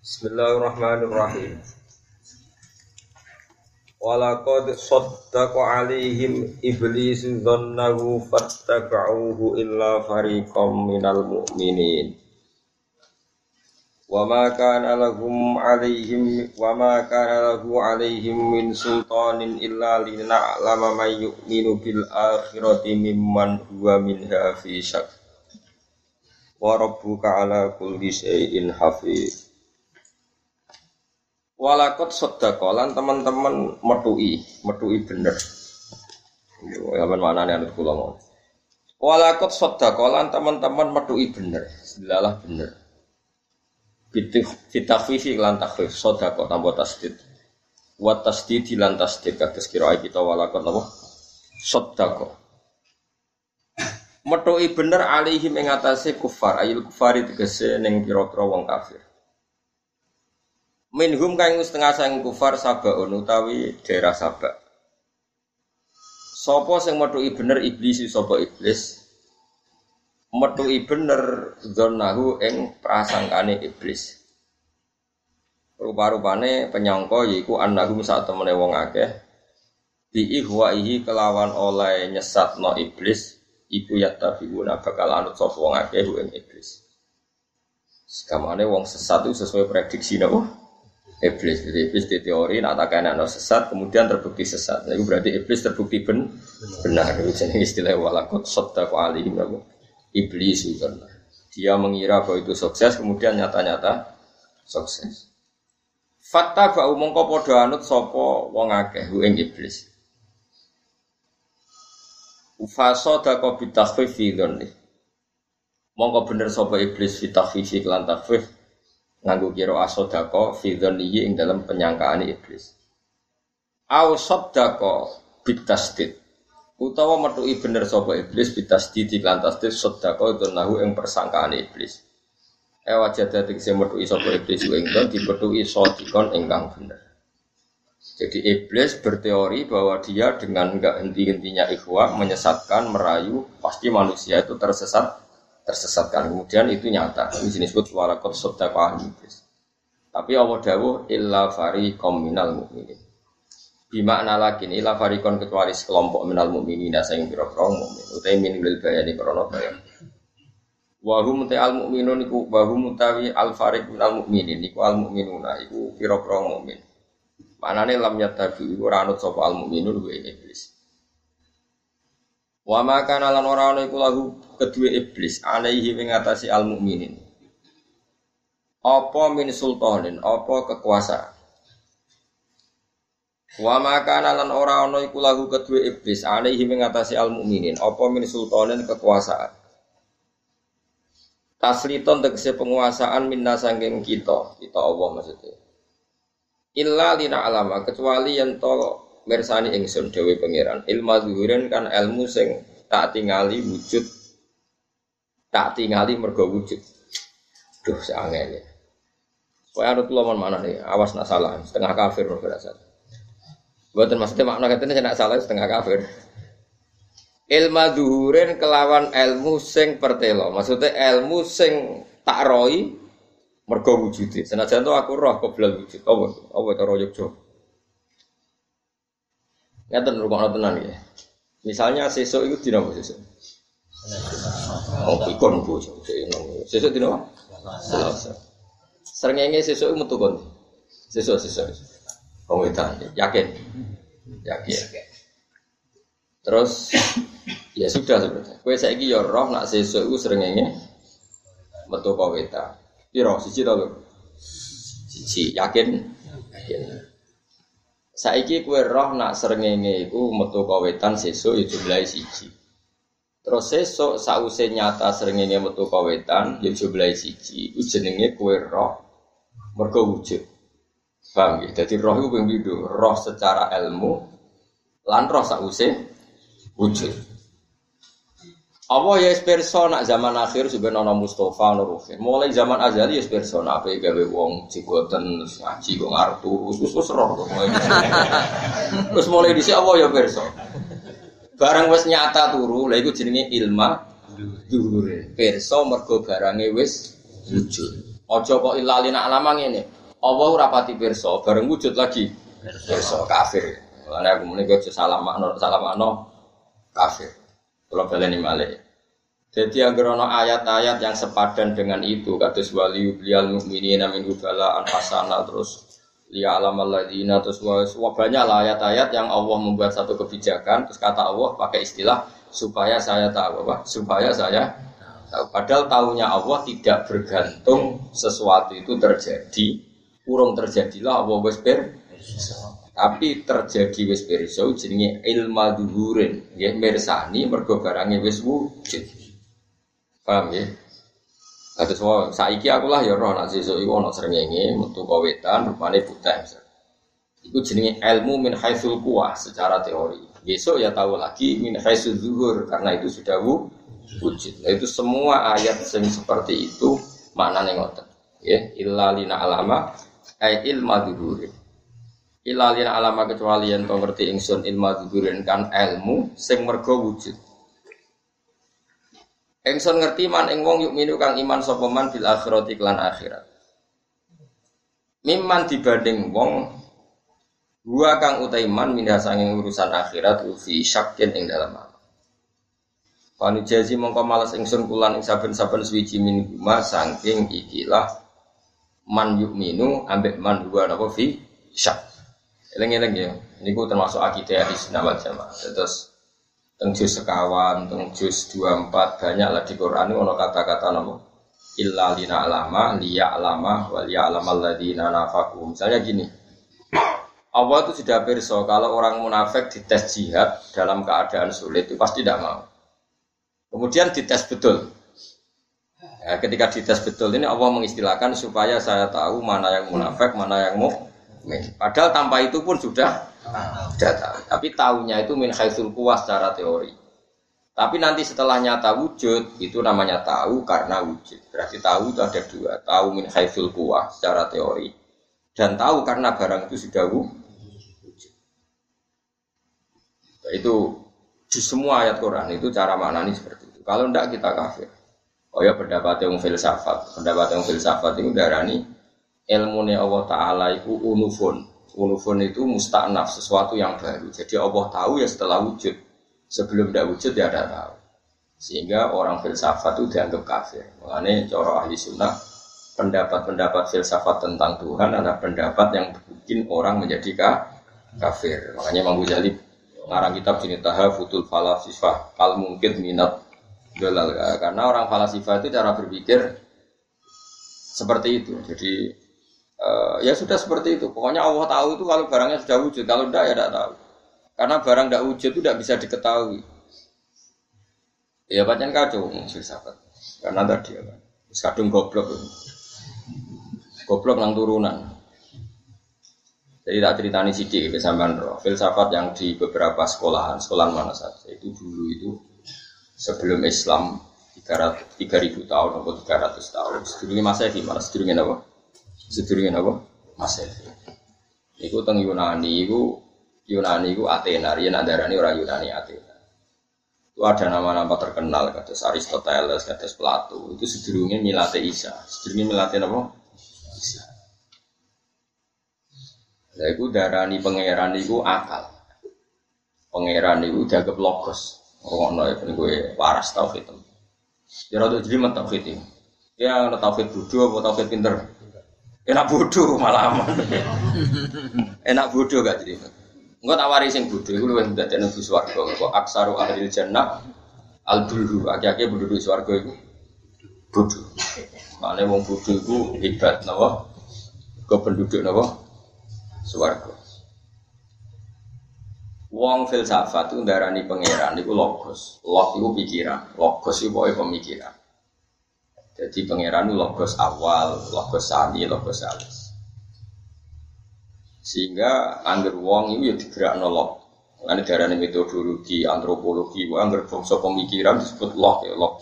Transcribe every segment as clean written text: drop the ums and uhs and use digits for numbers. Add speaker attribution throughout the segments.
Speaker 1: Bismillahirrahmanirrahim. Walaqad saddaqa 'alaihim iblisu dhannahu fattaba'uhu illa fariqam minal mu'minin. Wa ma kana lahu 'alaihim min sultanin illa lina'lama man yu'minu bil akhirati mimman huwa minha fi syak. Wa rabbuka 'ala kulli syai'in hafiz. Walakot sodakolan teman-teman metui bener. Zaman mana nih anut kula mau. Walakot sodakolan teman-teman metui bener, selalah bener. Fitafifi lan takhfif sodako tanpa tasdid. Wa tasdid lan tasdid kados kira kita walakot napa? Sodako. Metui bener alaihim ing atase kufar, ayil kufari tegese ning pira-pira wong kafir. Minhum kang setengah sang kufar sabaun utawi daerah Sabak. Sapa sing methuki bener iblis sapa iblis? Methuki bener dzannahu ing prasangkane iblis. Rupa-rupane penyangka yaiku annahum sak temene wong akeh bi ihwaihi kelawan oleh nyesatno iblis iku yattabiuna bakal anut sapa wong akeh ing iblis. Sekamane wong sesat itu sesuai prediksi napa? Iblis di teori nak tak kena sesat kemudian terbukti sesat. Itu berarti iblis terbukti benar. Itu jenis istilah walakot saddaqa alaihim iblis itu. Dia mengira bahwa itu sukses kemudian nyata-nyata sukses. Fatta ba'u mongko padha anut sapa wong akeh ing iblis. Ufasadaqa bitakhfifi dzanni. Mongko bener sapa iblis bitakhfifi lan takhfif nganggo kira asodako fi dzannihi ing dalam penyangkaan iblis. Au saddaqa bitasdid. Utawa methuki bener sapa iblis bitasdid lan tasdid saddaqa dzannahu ing persangkaan iblis. Wajada tegese methuki sapa iblis ing dzan dipethuki sadikon ingkang bener. Jadi iblis berteori bahwa dia dengan enggak henti-hentinya ikhwah menyesatkan, merayu, pasti manusia itu tersesatkan. Kemudian itu nyata. Ini disebut walaqad saddaqa iblis. Tapi Allah dawuh illa fariqam minal mu'minin. Bimakna lakin illa fariqon kecuali sekelompok minal mu'minin sing pira-pira mukmin. Utawi min lil bayani krana bayan. Wa hum ta'al mu'minun iku wa hum tawi al fariq minal mu'minin iku al mu'minuna iku pira-pira mukmin. Manane lam yattabi ora anut sapa al mu'minun wa iblis. Wa ma kana lan ora ana iku lahu kedue iblis alaihi ing ngatasi al mukminin. Apa min sultanin, apa kekuasaan. Wa ma kana lan ora ana iku lahu kedue iblis alaihi ing ngatasi al mukminin, apa min sultanin kekuasaan. Tasliton tegese penguasaan minna sangking kita Allah maksudnya. Illa lina alama kecuali yen to mirsani ingsun dewe pangeran ilmu zuhurin kan ilmu sing tak tingali wujud tak tingali mergo wujud. Duh sangene. Kowe arep kula mana nih awas nak salah setengah kafir berasa. Mboten maksudnya makna katene nek salah setengah kafir. Ilmu zuhurin kelawan ilmu sing pertelo. Maksudnya ilmu sing tak roi mergo wujude. Senajan to aku roh qoblal wujud. Apa cara Yogya. Ngaten rukun tenan nggih. Misalnya sesuk iku dina apa sesuk? Oh, ikon Bu. Sesuk dina apa? Selasa. Srengenge sesuk metu kon. Sesuk. Wong wedan, yakin. Terus ya sudah sebenarnya. Kowe saiki ya roh nak sesuk iku srengenge metu ka wedan. Piro siji to, Lur? Siji, yakin. Saiki kowe roh nak srengenge iku metu ka wetan sesuk ya jumlahe siji. Terus sesuk sause nyata srengenge metu ka wetan ya jumlahe siji. Iku jenenge kowe roh mergo wujud. Paham nggih? Dadi roh iku ping pindho, roh secara ilmu lan roh sause wujud. Allah ya pirsa nak zaman akhir subhanallah Mustafa Nuruhin. Mulai zaman azali ya pirsa nak ape gawe wong jigoten ngaji kok ngarep terus roh kok. Terus mulai dhisik Allah ya pirsa. Barang wis nyata turu, lha iku jenenge ilma zuhure. Pirsa mergo barange wis wujud. Ojo kok ilalina alama ngene. Allah ora pati pirsa, bareng wujud lagi pirsa kafir. Mulane aku muni kok salamakno kafir. Kalau baleni malih. Jadi agar ono ayat-ayat yang sepadan dengan itu, kados waliyu bilal mukminina min bala anfasana terus liya alamal ladina terus banyak lah ayat-ayat yang Allah membuat satu kebijakan terus kata Allah pakai istilah supaya saya tahu apa? Supaya saya tahu. Padahal tahunya Allah tidak bergantung sesuatu itu terjadi, urung terjadilah Allah wis tapi terjadi wis pirsa jenenge ilma dhuhurin nggih mirsani mergo barange wis wujud. Paham ya? Kados saiki aku lah ya roh nek sesuk iku ana srengenge metu ka wetan rupane putih. Iku jenenge ilmu min haitsul quwah secara teori. Besok ya tahu lagi min haitsul zuhur karena itu sudah wujud. Nah, itu semua ayat yang seperti itu maknane ngoten. Ya, illa lina alama ay ilma dhuhurin. Ilalina alama kecuali yang kau ngerti ingsun ilmu dzuhurin kan ilmu sing mergo wujud. Ingsun ngerti man ing wong yuk minu kang iman sapa man bil akhirati lan akhirat. Mimman dibanding wong gua kang utaiman minha sanging urusan akhirat fi syakin ing dalam apa. Panu jazi mongko males ingsun kulan ing saben-saben suwiji min guma saking ikilah man yuk minu ambek man gua napa fi syak. Eleng-eleng ya, ini termasuk akidah di Sunnah Jamaah. Terus teng juz sekawan, teng juz 24 banyak lah di Quran itu ada kata-kata nama illa lina alama, liya alama, waliya alamal ladina nafaku. Misalnya gini, Allah itu sudah pirsa kalau orang munafik dites jihad dalam keadaan sulit itu pasti tidak mau. Kemudian dites betul. Ya, ketika dites betul ini Allah mengistilahkan supaya saya tahu mana yang munafik, mana yang mukmin. Padahal tanpa itu pun sudah tahu. Tapi tahunya itu min haitsul quwah secara teori. Tapi nanti setelah nyata wujud itu namanya tahu karena wujud. Berarti tahu itu ada dua. Tahu min haitsul quwah secara teori dan tahu karena barang itu sudah wujud. Itu di semua ayat Quran itu cara maknanya seperti itu. Kalau tidak kita kafir. Oh ya pendapat yang filsafat. Pendapat yang filsafat itu darani ilmu Allah Ta'ala itu unufun. Unufun itu musta'naf, sesuatu yang baru. Jadi Allah tahu ya setelah wujud. Sebelum tidak wujud ya tidak tahu. Sehingga orang filsafat itu dianggap kafir. Makanya cara ahli sunnah, pendapat-pendapat filsafat tentang Tuhan adalah pendapat yang bikin orang menjadi kafir. Makanya Imam Ghazali ngarang kitab jenis Tahafutul Falasifah Al Mungkid Minat Dolal. Karena orang falasifah itu cara berpikir seperti itu. Jadi ya sudah seperti itu. Pokoknya Allah tahu itu kalau barangnya sudah wujud. Kalau tidak ya tidak tahu. Karena barang tidak wujud itu tidak bisa diketahui. Ya pancen kacau filsafat. Karena tadi ya kan. Kadung goblok. Goblok nang turunan. Jadi tak ceritani sidik ke sampean roh. Filsafat yang di beberapa sekolahan mana saja itu dulu itu sebelum Islam 3.000 tahun atau 300 tahun. Sedurunge Masehi, malah sedurunge apa? Sedurunge apa? Masehi. Iku teng Yunani iku Athena, yen andarane ora Yunani Athena. Itu ada nama-nama terkenal kados Aristoteles, kados Plato. Itu sedurunge milate Isa. Sedurunge milate apa? Isa. Lah iku darani pangeran iku akal. Pangeran iku dianggap logos. Ngono ya ben kowe waras tauhid. Ya rada jelimet tauhid iki. Ya ana tauhid bodoh apa tauhid pinter? Enak bodoh malah aman. Enak bodoh gak jelimet. Engko tak wari sing bodoh iku luwih ndadekno bus swarga. Kok aksaru ahlil jannah al-bulhu. Akeh-akeh penduduk swarga iku bodoh. Mane wong bodoh iku hebat napa? Kok penduduk napa? Swarga. Wong filsafat itu ndarani pangeran iku logos. Log iku pikiran, logos iku pokoke pemikiran. Jadi pangeran itu logos awal, logos sani, logos alis. Sehingga angger wong iku ya digerakno log. Lan darane metodologi antropologi, angger bangsa pemikiran disebut log ya log.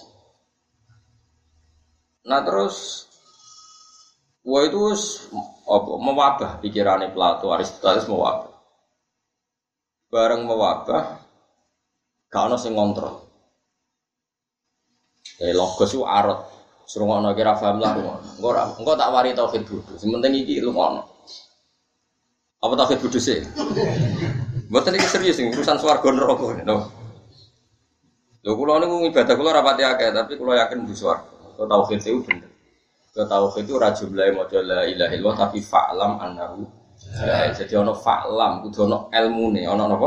Speaker 1: Nah terus itu mewabah pikirannya Plato, Aristoteles mewabah. Bareng mewabah, gak ada yang ngontrol. Logos itu arot. Serungono kira paham lah ngono. Engko tak wari tauhid bodho. Sing penting iki lungono. Apa tauhid bodho sih? Mboten iki serius sing urusan swarga neraka no. Lho kula niku ibadah kula rapati akeh tapi kula yakin mlebu swarga. Kok tauhid itu bener. Kok tauhid itu ora jumlahe maca la ilaha illallah tapi fa'lam annahu. Jadi ana fa'lam kudu ana ilmune, ana napa?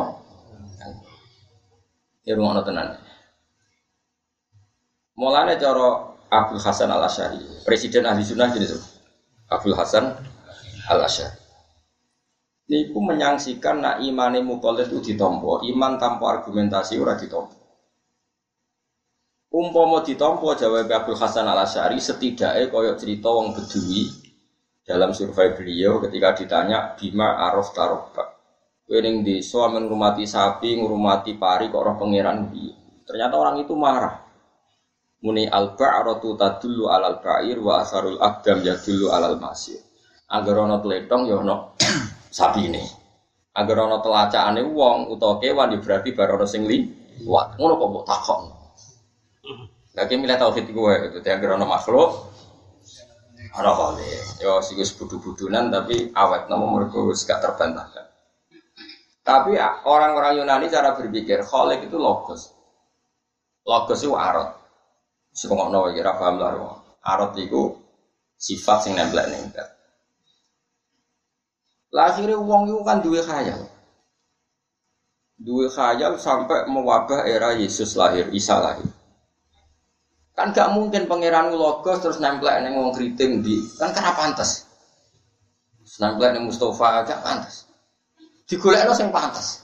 Speaker 1: Ya ngono tenan. Mulane cara Abdul Hasan Al-Asy'ari, presiden ahli sunnah jenis Abdul Hasan Al-Asy'ari. Niku menyangsikan nak imane mukallaf itu ditampa, iman tanpa argumentasi ora ditampa. Umpama ditampa jawab Abdul Hasan Al-Asy'ari setidaknya koyok cerita wong Bedui dalam survei beliau ketika ditanya bima araf tarobak. Kowe ning desa men ngurmati sapi, ngurmati pari kok roh pangeran piye. Ternyata orang itu marah. Muni al-ba'ratu tadullu 'alal ba'ir wa asarul aqdam yadullu 'alal masir. Agar ana tletong ya ana sapine. Agar ana telacakane wong utawa kewan berarti bar ana sing liwat. Ngono kok mbok takon. Lagi milih tauhid iku wae itu agar ana makhluk ana kale. Ya sing wis budu-budunan tapi awet napa mergo wis gak terbantahkan. Tapi orang-orang Yunani cara berpikir khaliq itu logos. Logos itu arot. Semono iki ra paham lah. Arot iku sifat sing nempel ning zat. Lahire wong iku kan duwe khayal. Duwe khayal sampai mewabah era Yesus lahir, Isa lahir. Kan gak mungkin pangeran logos terus nempel ning wong kriting di. Kan karena pantes. Nempel ning Mustafa gak pantes. Digolekno sing pantes.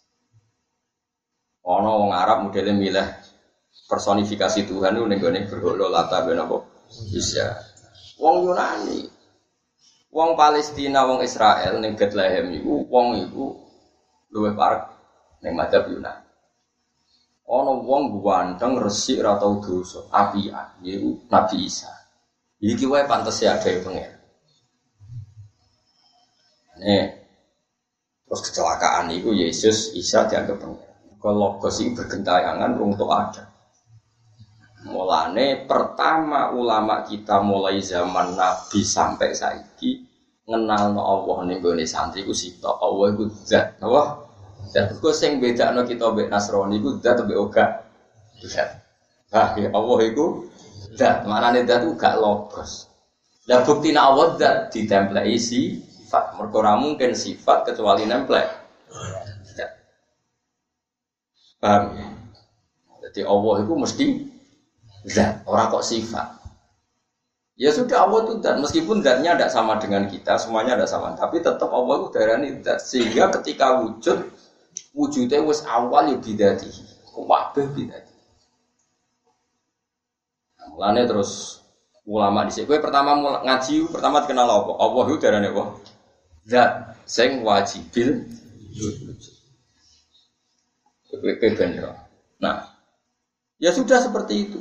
Speaker 1: Ana wong Arab modele milih personifikasi Tuhan itu ning berhala Lata ben apa bisa. Wong Yunani, wong Palestina, wong Israel ning Bethlehem iku wong iku luwih parek ning madzhab Yunani. Ana wong ganteng resik ora tau dosa, apian niku Nabi Isa. Iki wae pantes ya gawe pengen. Terus kecelakaan itu Yesus Isa dianggap pengen. Kalau logos itu bergentayangan untuk ada. Mulane pertama ulama kita mulai zaman Nabi sampai saiki ngenalno Allah ning gone santri ku sitok Allah iku zat, napa? Zat ku sing bedakno kita mbek Nasrani iku zat mbek ora zat. Allah iku zat, maknane zat ku gak logos. Lah buktine Allah zat ditempleki sifat, mergo ora mungkin sifat kecuali nemplek. Zat. Paham ya? Jadi Allah iku mesti zat, orang kok sifat. Ya sudah Allah itu zat, meskipun zatnya tidak sama dengan kita, semuanya tidak sama, tapi tetap Allah itu darani zat. Sehingga ketika wujudnya wis awal ya bidatihi, kabeh bidatihi. Nah, mulane terus ulama dhisik, kowe pertama ngaji pertama dikenal apa? Allah itu darani apa? Zat sing wajibil wujud. Kowe bener. Nah, ya sudah seperti itu.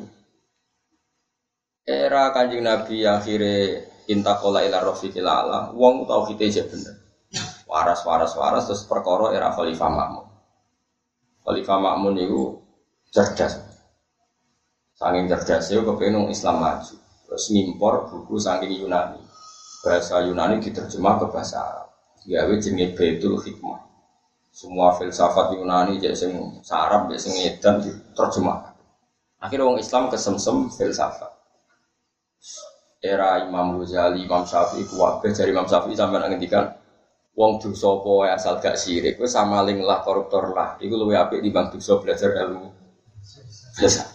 Speaker 1: Era Kanjeng Nabi akhire intakola ila rafiqil ala, wong tauhide jek bener. Waras terus perkara era Khalifah Ma'mun. Khalifah Ma'mun niku cerdas. Saking cerdasé kepengin Islam maju. Terus ngimpor buku saking Yunani. Bahasa Yunani diterjemah ke bahasa Arab. Gawe jenenge Baitul Hikmah. Semua filsafat Yunani jek sing Arab jek sing edan diterjemah. Akhirnya wong Islam kesemsem filsafat. Era Imam Ghazali, Imam Syafi'i kuwabe dari Imam Syafi'i sampeyan ngendikan wong dosa apa asal gak sirik wis samaling lah koruptor lah iku luwih apik timbang dosa belajar ilmu filsafat.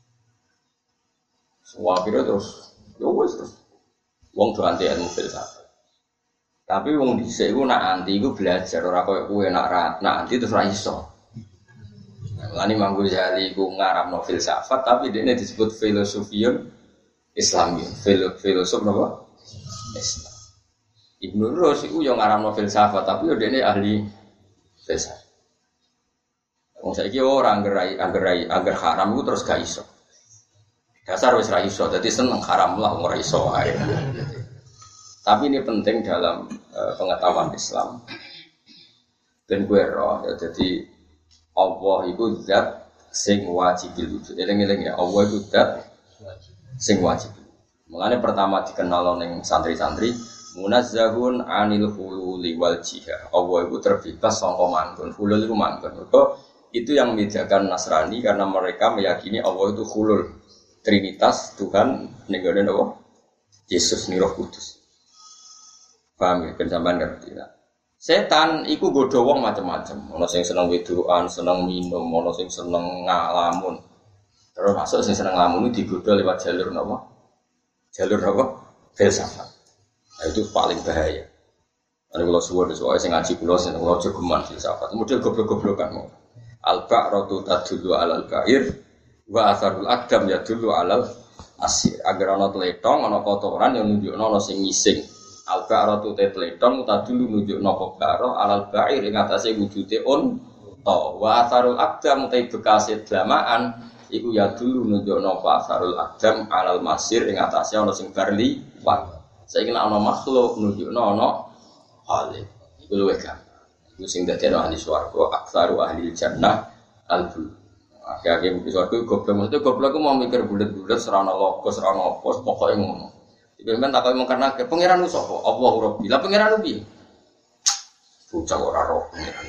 Speaker 1: Semua kira terus yo wis terus wong do anti ilmu filsafat. Tapi wong dhisik iku nak anti iku belajar ora koyo kowe nak anti terus ra iso. Lan Imam Ghazali iku ngarapno filsafat tapi dekne disebut filosofiyun Islam, filosof napa? Islam. Ibnu Rus iku yo ngaramno filsafat tapi yo dene ahli filsafat. Wong saiki ora angger haram iku terus gak iso. Dasar wis ra iso, dadi seneng haram lah ora iso ae. Tapi ini penting dalam pengetahuan Islam. Ben kowe ro, dadi Allah iku zat sing wajibil wujud. Eling-eling ya, Allah iku zat sing wajib. Mulane pertama dikenal ning santri-santri munazzahun anil hululi wal jihad. Allah itu terbebas saka manggon. Hulul itu manggon. Itu yang membedakan Nasrani karena mereka meyakini Allah itu hulul, Trinitas Tuhan ning gone apa? Yesus ni Roh Kudus. Paham ya? Ben sampean ngerti ta? Setan iku godho wong macam-macam. Ana sing seneng wedokan, seneng minum, ana sing seneng ngalamun. Terus masuk sing seneng ngalamun digodho lewat jalur napa? Jalur apa? Filsafat. Nah, itu paling bahaya. Ada kalau suwon soal sing ngaji kula sing kula aja geman filsafat. Model goblok-goblokan mau. Al-ba'ratu tadullu 'alal ba'ir wa atharul aqdam yadullu 'alal asir. Agar ana tletong, ana kotoran yang nunjukno ana sing ngising. Al-ba'ratu tletong tadullu nunjukno kobaro 'alal ba'ir ing atase wujude unta. Wa atharul aqdam te bekase dlamaan iku yadullu nunjukno atharul aqdam 'alal masir ing atase ana sing bar liwat. Saiki nek ana makhluk nunjukno ana hale. Iku luwih gampang. Iku sing dadi ahli swarga, aktsaru ahli jannah al-bul. Akhirnya mungkin swarga goblok, maksudnya goblok ku mau mikir bulet-bulet serana logos, serana apa, pokoke ngono. Iki men tak koyo mung karena pangeran ku sapa? Allahu Rabbi. Lah pangeran ku piye? Bocah ora roh pangeran.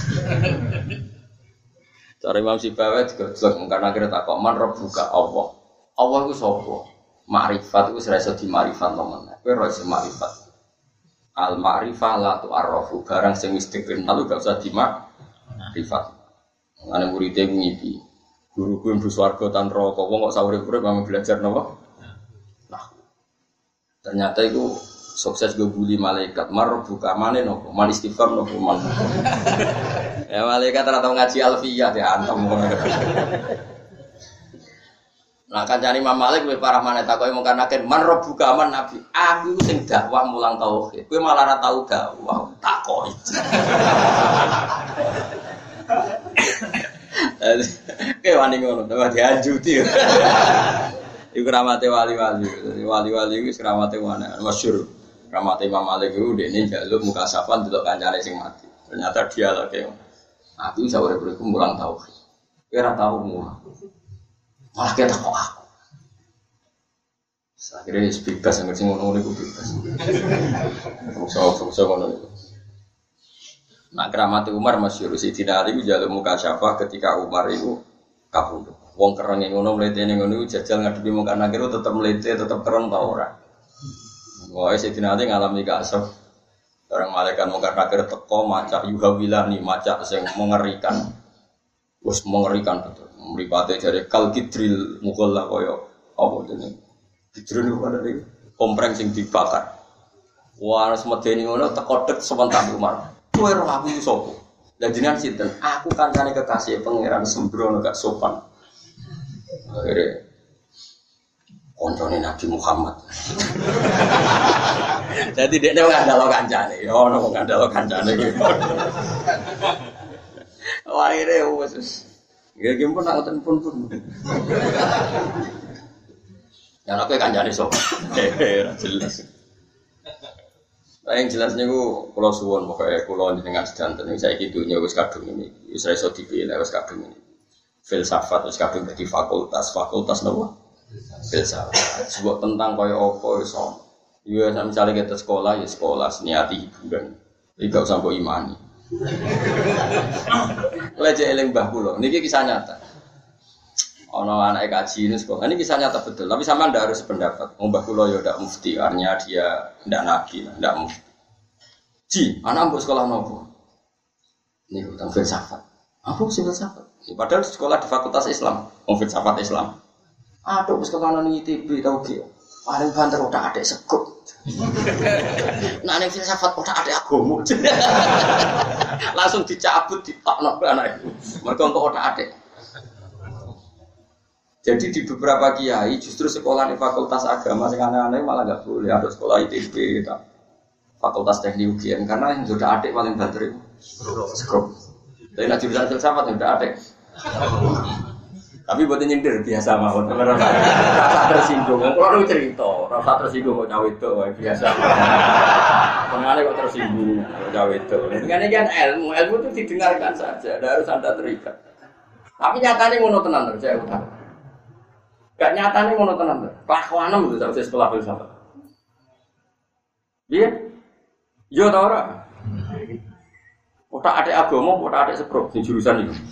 Speaker 1: Cara Imam Sibawi digojlok mung karena kira tak kok man rabbuka Allah. Allah ku sapa? Ma'rifat itu serasa di ma'rifat teman. Kowe ora iso ma'rifat. Al ma'rifah la tu'arrafu. Barang sing wis dikenal gak usah di ma'rifat. Ana muridé ngipi. Guruku mlebu swarga tan neraka. Wong kok saurip-urip mung belajar napa? Nah. Ternyata itu sukses go bully malaikat. Mar buka mane napa? Man istighfar napa man. Ya malaikat ora tau ngaji alfiyah diantem ngono. Nah kancane Imam Malik luwih parah maneh takoke mung kanaken man rabbuka man nabi. Aku sing dakwah mulang tauhid. Kowe malah ora tau dakwah takoki. Kowe wani ngono, tambah dianjuti. Iku ramate wali-wali. Wali-wali iku ramate mana? Masyhur. Ramate Imam Malik iku dene njaluk muka safan delok kancane sing mati. Ternyata dia lagi. Aku iso urip mulang tauhid. Kowe ora tau mulang. Malah kita kok aku. Akhirnya bebas, yang ngerti ngono-ngono itu bebas. Fungsi ngono itu. Nah keramati Umar masyhur Sayyidina Ali itu jaluk muka syafa ketika Umar itu kabundut. Wong kereng ngono mletene ngono jajal ngadepi muka nakir tetep mlete, tetep kereng ta ora. Wah Sayyidina Ali ngalami kasaf. Orang malaikat muka nakir teko macak yuhawilani macak sing mengerikan. Wes mengerikan betul. Mripate jare kal kidril mughalla kaya apa jenenge. Kidril niku ana iki kompreng sing dibakar. Wah semedeni ngono teko tek sebentar Umar. Kowe roh aku iki sapa? Lah jenengan sinten? Aku kancane kekasih pangeran sembrono gak sopan. Akhire koncone Nabi Muhammad. Jadi dekne ngandalo kancane. Yo ono ngandalo kancane iki. Wah akhirnya wes. Ya game pun nak pun. Yang aku kancane sok. Jelas. Nah, yang jelasnya ku kalau suwon pokoknya kalau dengan sedanten ini saya dunia wis kadung ini, wis iso dipilih wis kadung ini. Filsafat wis kadung dadi fakultas napa? Filsafat. Sebab tentang kaya apa iso. Ya misalnya kita sekolah ya sekolah niati hiburan. Iki gak usah mbok imani. Lejek eling mbah kula. Niki kisah nyata. Ana anake kaji ini sekolah. Ini kisah nyata betul, tapi sampean ndak harus sependapat. Mbah kula ya ndak mufti, artinya dia ndak nabi, ndak mufti. Ji, anak mbok sekolah nopo? Niku tentang filsafat. Apa sih filsafat? Padahal sekolah di Fakultas Islam, filsafat Islam. Aduh, sekolah nang ITB tau ge. Paling banter udah adek sekut. Nah, ning filsafat udah adek agama. Langsung dicabut ditokno anak itu. Mergo kok udah adek. Jadi di beberapa kiai justru sekolah di fakultas agama sing aneh-aneh malah enggak boleh ada sekolah ITB tak. Fakultas Teknik UGM karena yang sudah adik paling banter itu skrup. Tapi nak jurusan filsafat yang sudah adik. Tapi buat nyindir biasa mawon. Rasa tersinggung. Kalau lu cerita, rasa tersinggung kok cawe itu biasa. Pengalih kok tersinggung kok cawe itu. Dengan kan ilmu itu didengarkan saja, tidak harus Anda terikat. Tapi nyatanya ngono tenan saya utang. Gak nyatane ngono tenan. Kelakuanem itu sak sekolah filsafat. Iya? Yo ta ora? Otak adik agama, otak adik seprok di jurusan itu.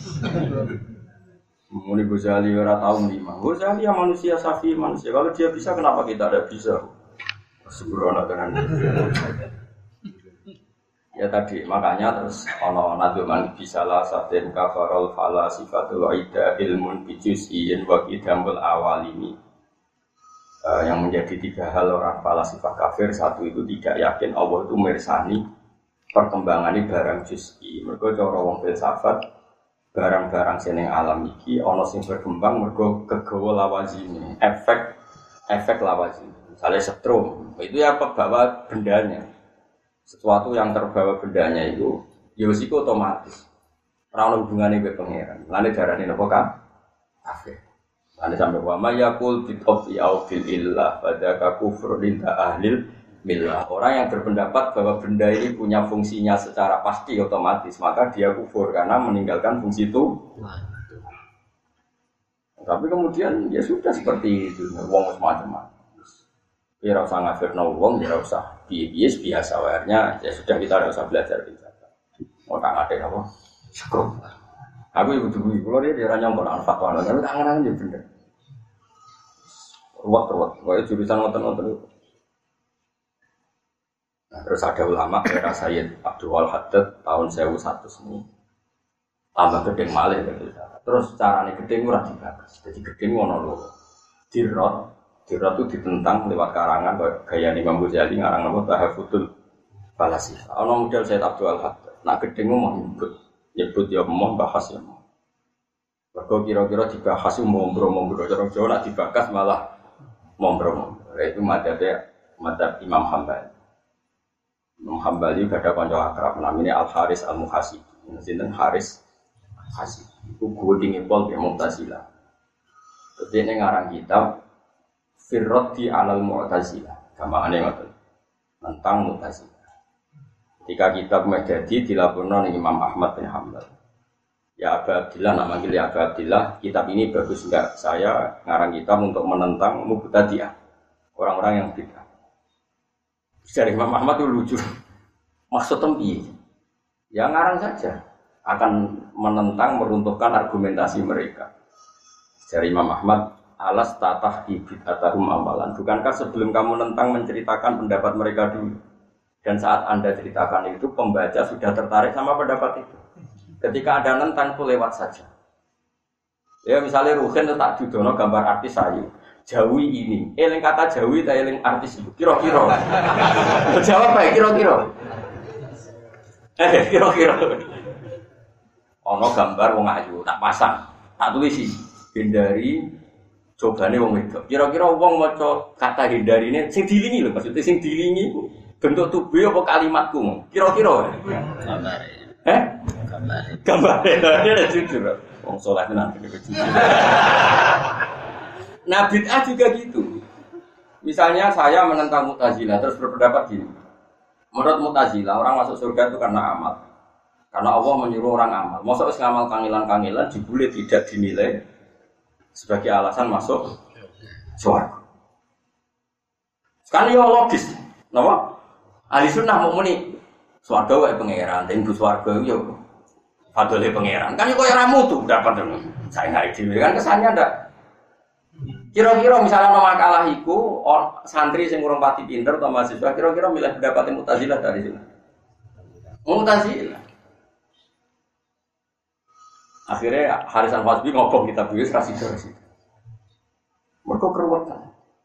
Speaker 1: Muni Ghazali ora tau lima. Ghazali yang manusia safi manusia. Kalau dia bisa kenapa kita tidak bisa? Sembrono tenan. Ya tadi makanya terus ono naduman bisalah saten kafarul fala sifatul aida ilmun bijuz'in wa qidamul awal ini. Yang menjadi tiga hal orang falasifah kafir, satu itu tidak yakin Allah itu mirsani perkembangan barang juz'i. Mergo cara wong filsafat barang-barang seneng alam iki ana sing berkembang mergo kegawa lawazine, efek lawazine. Misalnya setrum, itu ya pembawa bendanya. Sesuatu yang terbawa bendanya itu ya wis iku otomatis. Ora ono hubungane mbek pangeran. Lane darane napa kan? Kafir. Lane sampe wa mayaqul bi tawfi au fil illah fadaka kufrun inda ahlil millah. Orang yang berpendapat bahwa benda ini punya fungsinya secara pasti otomatis, maka dia kufur karena meninggalkan fungsi itu. Tapi kemudian ya sudah seperti itu, wong macam-macam. Ya ora usah ngafirno wong, ya ora usah biasa wae-nya, ya sudah kita ora usah belajar biasa. Mau tak ngate apa? Syukur. Aku ibu dulu kula dia ora nyongkon fatwa, tapi tangan-tangan yo bener. Ruwet, wae jurusan ngoten-ngoten itu. Nah, terus ada ulama era Sayyid Abdul Haddad tahun 1100 ini tambah gedeng malih gitu. Terus carane gedeng ora dibakas. Jadi gedeng ngono lho. Dirot itu ditentang lewat karangan gaya Imam Ghazali ngarang apa Tahaffutul Falasifah. Ana model Sayyid Abdul Haddad. Nak gedeng mau nyebut ya mau bahas ya mau. Mergo kira-kira dibahas mombro-mombro cara Jawa nak dibakas malah mombro-mombro. Itu madzhab Imam Hambali. Imam Hambali ada kanca akrab namanya Al Haris Al Muhasibi. Sinten Haris Muhasibi. Iku gudinge pol ya Mu'tazilah. Dadi ning ngarang kitab Firrati Alal Mu'tazilah. Gamane ngoten. Tentang Mu'tazilah. Ketika kitab Madadi dilaporkan oleh Imam Ahmad bin Hanbal. Ya Abu Abdillah, nak manggil ya Abu Abdillah, kitab ini bagus enggak? Saya ngarang kitab untuk menentang Mubtadi'ah. Orang-orang yang bid'ah. Dari Imam Ahmad itu lucu. Maksud tempi. Ya ngarang saja. Akan menentang, meruntuhkan argumentasi mereka. Dari Imam Ahmad, alas tatah bid'atahum amalan. Bukankah sebelum kamu menentang menceritakan pendapat mereka dulu? Dan saat Anda ceritakan itu, pembaca sudah tertarik sama pendapat itu. Ketika ada nentang itu lewat saja. Ya misalnya Ruhin itu tak dudono gambar artis Ayu. Jawi ini, eling kata Jawi tak eling artis itu. Kira-kira. Jawab baik kira-kira. Kira-kira. Ono gambar wong ayu tak pasang, tak tulis hindari cobane wong wedok. Kira-kira wong maca kata hindari ini sing dilingi lho, maksudnya sing dilingi bentuk tubuh apa kalimatku. Kira-kira. Gambar. Dia jujur. Wong saleh tenan jujur. Nah bid'ah juga gitu. Misalnya saya menentang Mu'tazilah terus berpendapat gini. Menurut Mu'tazilah orang masuk surga itu karena amal. Karena Allah menyuruh orang amal. Masa wis ngamal kangilan-kangilan dibule tidak dinilai sebagai alasan masuk surga. Sekarang ya logis. Napa? Ahli sunnah mau muni swarga wae pangeran, den bu swarga yo fadole pangeran. Kan kok ora mutu dapat saya nggak dhewe kan kesannya ndak. Kira-kira misalnya nama makalah iku santri sing urung pati pinter atau mahasiswa kira-kira milih pendapat Mu'tazilah dari sini. Mu'tazilah. Akhirnya Haris Al-Fasbi ngobong kitab itu rasih-rasih. Mereka keruwetan.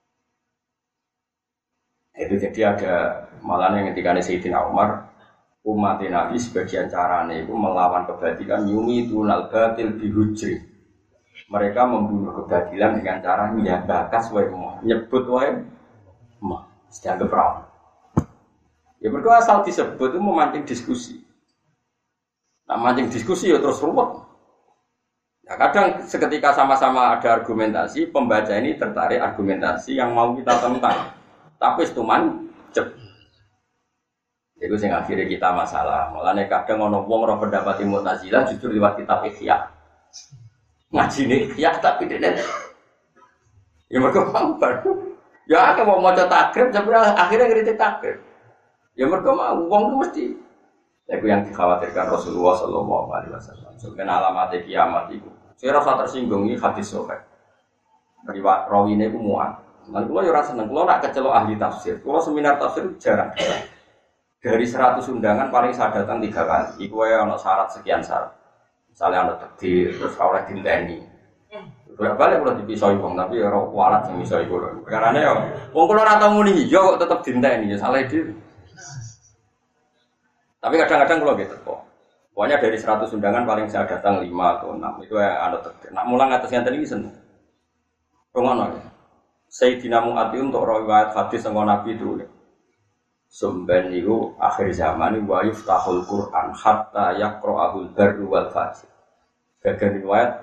Speaker 1: Itu jadi ada malah yang ketika Sayyidina Umar umat Nabi sebagian caranya itu melawan kebatilan yumi tunal batil bihujri. Mereka membunuh kebatilan dengan cara bakas wae nyebut wae mah dianggap perawan. Ya mereka asal disebut itu memancing diskusi. Nah mancing diskusi ya terus ruwet. Ya kadang seketika sama-sama ada argumentasi, pembaca ini tertarik argumentasi yang mau kita tentang. Tapi setuman cep. Itu sing akhirnya kita masalah. Mulane kadang ono wong ora pendapat Mu'tazilah justru lewat kitab Ihya. Ngaji nih Ihya tapi dene Ya mereka mau baru. Ya aku mau maca takrib sebenarnya akhirnya kritik takrib. Ya mereka mau uang itu mesti. Itu yang dikhawatirkan Rasulullah Sallallahu Alaihi Wasallam. Sebenarnya alamat kiamat itu. Saya rasa tersinggung ini hadis sohaih. Riwayat rawi ini aku muat. Nanti kalau orang seneng, kalau nak kecelok ahli tafsir, kalau seminar tafsir jarang. Dari 100 undangan paling saya datang 3 kali. Iku ya ono syarat sekian syarat. Misalnya ono takdir, terus oleh dinteni. Bolak balik kalau dipisoi wong, tapi ya ora kualat sing iso iku lho. Perkarane yo wong kula ora tau muni hijau kok tetep dinteni ya salah dhewe. Tapi kadang-kadang kalau gitu kok. Pokoknya dari 100 undangan paling saya datang 5 atau 6. Itu ya ada takdir. Nak mulang atas yang tadi seneng. Pengono ya. Sayyidina Mu'adhi untuk riwayat hadis sama Nabi itu. Sumben itu akhir zaman wa yuftahul Qur'an hatta yaqra'ahul barru wal fajir. Bagian riwayat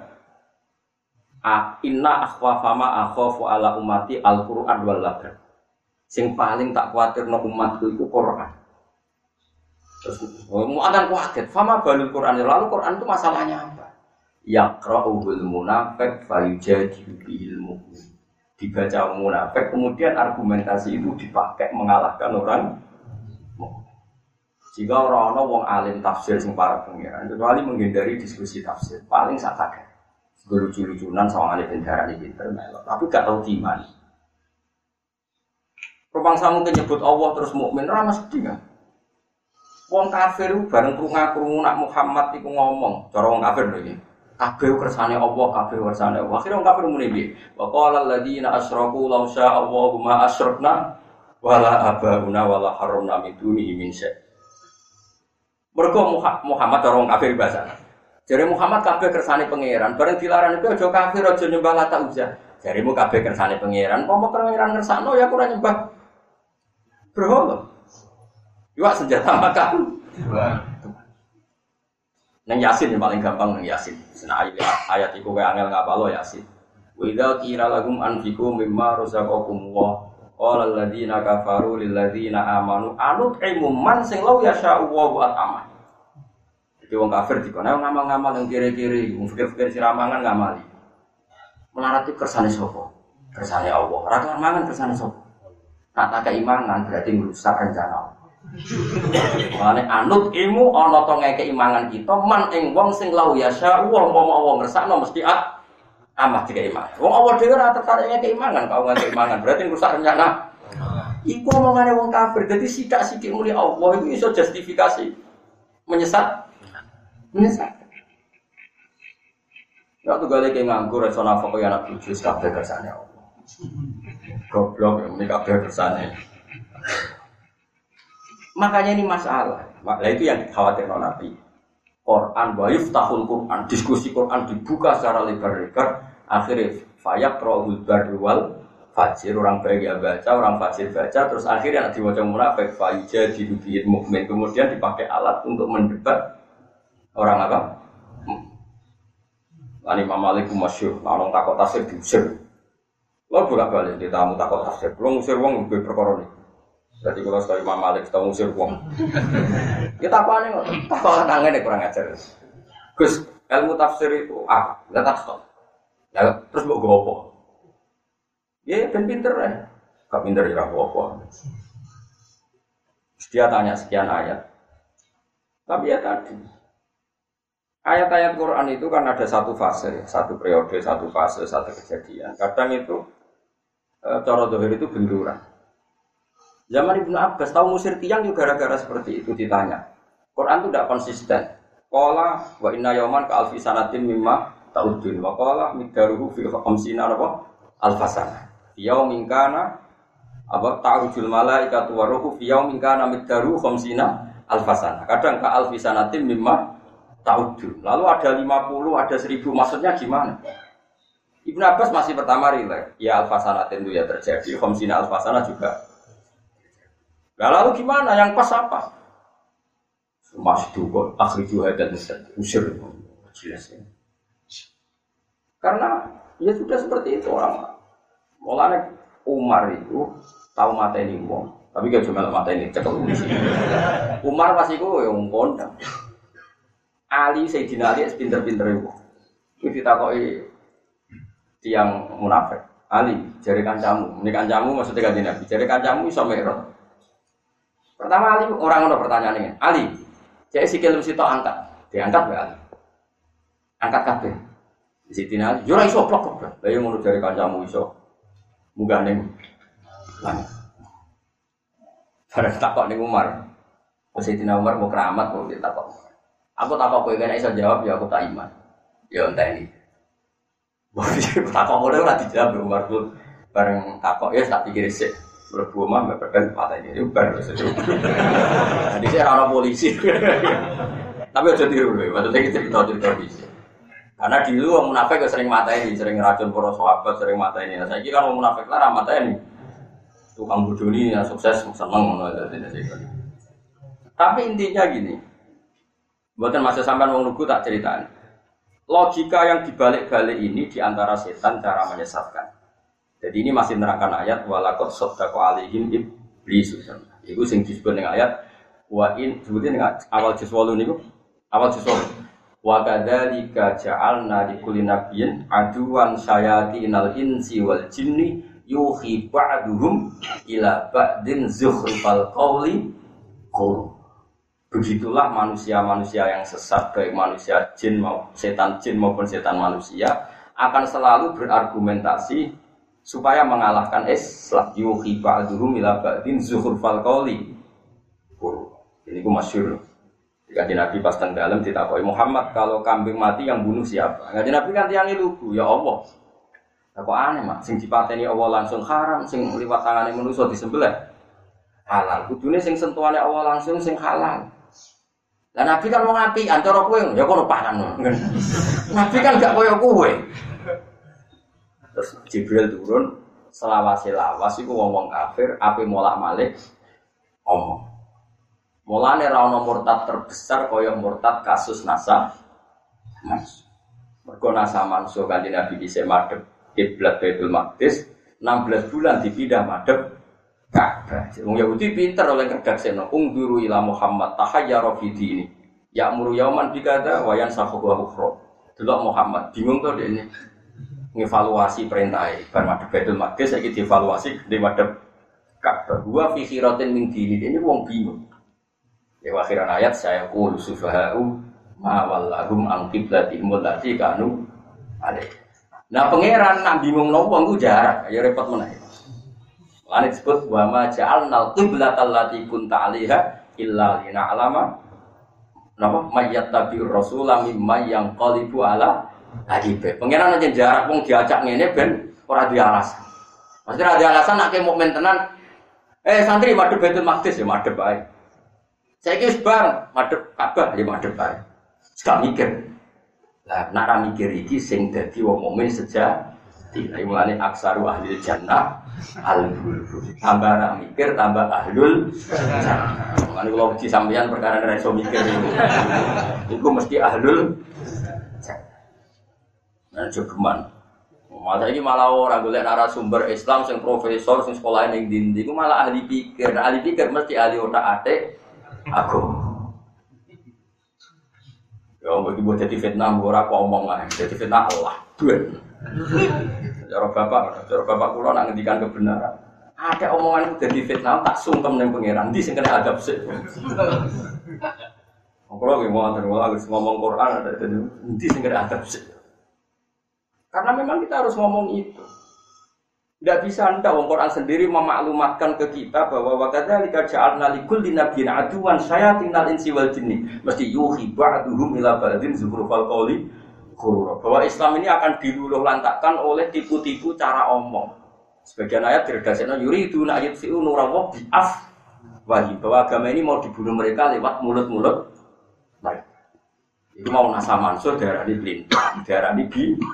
Speaker 1: inna akhwafama akhafu ala ummati al-Qur'an wal labar. Sing paling tak kuatirno umatku itu Qur'an. Terus mu'adhan kuatir, fama balul Qur'an. Lalu Qur'an itu masalahnya apa? Yaqra'uhul munafiq fayujadilu bihil mu'min. Dibaca munafik, kemudian argumentasi itu dipakai mengalahkan orang. Jika orang-orang wong alim tafsir sing para pengiran, kecuali menghindari diskusi tafsir, paling sakit. Lucu-lucunan sama ahli bendara di pinter, tapi gak tahu gimana. Perbangsa mungkin nyebut Allah terus mukmin, ramah sedih kan? Wong kafir bareng krungu nak Muhammad iku ngomong, cara wong kafir lho iki. Kabeh kersane Allah, kabeh kersane Allah. Akhire wong kafir muni piye? Wa qala alladziina asyraku law syaa Allahu ma asyrakna wala abauna wala haramna min dunihi min syai'. Mergo Muhammad cara wong kafir bahasa. Jare Muhammad kabeh kersane pangeran, bareng dilarang itu aja kafir aja nyembah Lata Uzza. Jaremu kabeh kersane pangeran, pomo pangeran ngersakno ya ora nyembah. Berhala. Iwak senjata makan. Nang Yasin yang paling gampang nang Yasin. Sena ayat iku kowe angel ngapalo Yasin. Wa idza qila lahum anfiqu mimma razaqakum wa qala alladziina kafaru lil ladziina amanu anut'imu man sing law yasha'u wa at'ama. Jadi wong kafir dikono ngamal-ngamal yang kiri-kiri, wong fikir-fikir siramangan ngamali. Melarat itu kersane sapa? Kersane Allah. Ora kelar mangan kersane sapa? Kata keimangan berarti merusak rencana Allah. Mane anut ilmu ana to ngeke imangan kita man ing wong sing lau yasya wong Allah ngersakno mesti amah dikek iman. Wong Allah dhewe ora tertarik ngeke imangan, kau ngeke imangan berarti merusak rencana. Iku omongane wong kafir. Dadi sithik-sithik muli Allah itu iso justifikasi menyesat. Ya tuh gale ki nganggur iso nafkah ya anak bojo kabeh kersane Allah. Goblok ini kabeh kersane. Makanya ini masalah. Nah, itu yang dikhawatirkan Nabi. Quran wa yuftahul Quran, diskusi Quran dibuka secara lebar-lebar, akhirnya fayaqra'ul barru wal fajir, orang baik ya baca, orang fajir baca, terus akhirnya diwaca munafik fayujadilu bihil mu'min, kemudian dipakai alat untuk mendebat orang apa? Imam Malik masyhur, orang takut tafsir diusir. Lo bolak-balik di tamu takut tafsir, lo ngusir wong lebih perkara ini. Jadi kalau sekali Imam Malik kita ngusir wong. Kita apa nih? Tak tangan deh kurang ajar. Gus, ilmu tafsir itu apa? Enggak tak stop. Ya, terus mau gopo? Ya, ben pinter ya. Gak pinter ya gopo. Dia tanya sekian ayat. Tapi ya tadi. Ayat-ayat Quran itu kan ada satu fase, satu periode, satu fase, satu kejadian. Kadang itu cara dohir itu benturan. Zaman Ibnu Abbas tahu musir tiang juga gara-gara seperti itu ditanya. Quran itu tidak konsisten. Qala wa inna yawman ka alfi sanatin mimma ta'udun wa qala miqdaruhu fi khamsina apa alfasana. Yaumin kana apa ta'ujul malaikatu wa ruhu fi yaumin kana miqdaruhu khamsina alfasana. Kadang ka alfi sanatin mimma ta'udun. Lalu ada 50, ada 1000, maksudnya gimana? Ibnu Abbas masih pertama rileks. Ya alfasanatin itu ya terjadi, khamsina alfasana juga. Nah, lalu gimana? Yang pas apa? Masih dukun, akhriju hadat usir jelas ya. Karena ya sudah seperti itu orang. Mulanya Umar itu tahu mateni wong, tapi gak cuma mateni cekel polisi. Umar pas iku yang kondang. Ali Sayyidina Ali pinter-pinter itu. Itu ditakoki tiang munafik. Ali, jari kancamu. Ini kancamu maksudnya kanjeng Nabi. Jari kancamu iso mi'raj. Pertama Ali orang ono pertanyaane. Ali, cek sikil sitok angkat. Diangkat wae Ali. Angkat kabeh. Di situ Ali, yo ora iso plok kok. Lah yo ngono jari kancamu iso. Munggah ning langit. Bareng takok ning Umar. Sayyidina Umar mau keramat kok ditakok. Aku takok kowe kene iso jawab ya aku tak iman. Ya enteni. Wong takok ora ora dijawab Umar tuh bareng takok ya tak pikir sik. Mlebu omah mepet patene yo bar wis. Jadi saya ora polisi. Tapi aja tiru lho, maksudnya cerita-cerita bisa. Karena dulu wong munafik sering mateni, sering racun para sahabat, sering mateni. Nah saiki kan wong munafik lah mateni. Tukang bodoni yang sukses seneng ngono dadi. Tapi intinya gini. Mboten masa sampean wong lugu tak ceritain. Logika yang dibalik-balik ini diantara setan cara menyesatkan. Jadi ini masih nerangkan ayat walaqad saddaqa alaihim iblis. Iku sing disebut ning ayat wa in sebutin ning awal juz 8 niku. Awal juz 8. Wa kadzalika ja'alna likulli nabiyyin aduwan syayatinal insi wal jinni yuhi ba'duhum ila ba'din zukhrufal qawli qul. Begitulah manusia-manusia yang sesat, baik manusia jin maupun setan manusia akan selalu berargumentasi supaya mengalahkan Islam. Yuhi ba'duhum ila ba'din zukhrufal qawli. Ini ku masyhur. Jika Nabi pas teng dalem ditakoki Muhammad, kalau kambing mati yang bunuh siapa? Ngaji Nabi kan tiange lugu, ya Allah. Kok aneh mak, sing dipateni Allah langsung haram, sing liwat tangane manusa disembelih halal. Kudune sing sentuhane Allah langsung sing halal. Lah Nabi kan wong apian, cara kowe ya kono pangan. Nabi kan gak koyo kowe. Terus Jibril turun selawase-lawas iku wong-wong kafir ape molak-malik omong. Mulane ra ono murtad terbesar kaya murtad kasus Nasa Mansuh. Mergo Nasa Mansuh kanthi Nabi dhisik madhep kiblat Baitul Maqdis 16 bulan dipindah madhep Ka'bah. Wong Yahudi pinter oleh kerdaksena ungduru ila Muhammad tahayyara fi dini. Ya'muru yauman bikada wa yansakhu wa ukhra. Delok Muhammad bingung to dekne. Ngevaluasi perintah bar madhep Baitul Maqdis saiki dievaluasi di madhep Ka'bah. Wa fi khiratin min dini. Ini wong bingung. Di akhiran ayat saya qul sufaha'u ma wallahum an qiblatihim allati kanu alaihi. Nah pangeran nak bingung nopo ku jarak, ya repot meneh. Lan disebut wa ma ja'alnal qiblatal lati kunta 'alaiha illa lina'lama napa mayyattabi'ur rasula mimma yanqalibu ala aqibe. Pangeran aja jarak wong diajak ngene ben ora di alasan. Maksudnya ada alasan nak ke mukmin tenan. Santri madhep Baitul Maqdis ya madhep bae. Saiki wis bar madhep Ka'bah ya madhep bae. Gak mikir. Lah nak ra mikir iki sing dadi wong mukmin sejati. Lah mulane aksaru ahli jannah al-bulbul. Tambah ra mikir tambah ahlul jannah. Mulane kula uji sampeyan perkara ora iso mikir niku. Iku mesti ahlul jannah. Nah jogeman. Masa ini malah orang golek narasumber Islam sing profesor sing sekolah ning ndi-ndi iku malah ahli pikir. Ahli pikir mesti ahli otak-atik aku. Ya bagi buat jadi fitnah ora kok omong ae. Jadi fitnah Allah. Duit. Cara bapak kula nak ngendikan kebenaran. Ada omongan jadi fitnah tak sungkem ning pangeran. Ndi sing kena adab sik. Kula nggih ngomong Quran ada ndi sing kena adab sik. Karena memang kita harus ngomong itu. Tidak bisa ndak wong Quran sendiri memaklumatkan ke kita bahwa wakadzalika ja'alna likulli nabiyyin aduwan syayatinal insi wal jinni. Mesti yuhi ba'duhum ila ba'din zukhrufal qawli ghurura. Bahwa Islam ini akan diluluh lantakkan oleh tipu-tipu cara omong. Sebagian ayat diredaksikan yuriduna yutfi'u nurallahi bi'afwahihim. Bahwa agama ini mau dibunuh mereka lewat mulut-mulut mereka. Itu mau Nasa Mansuh darani blintang, darani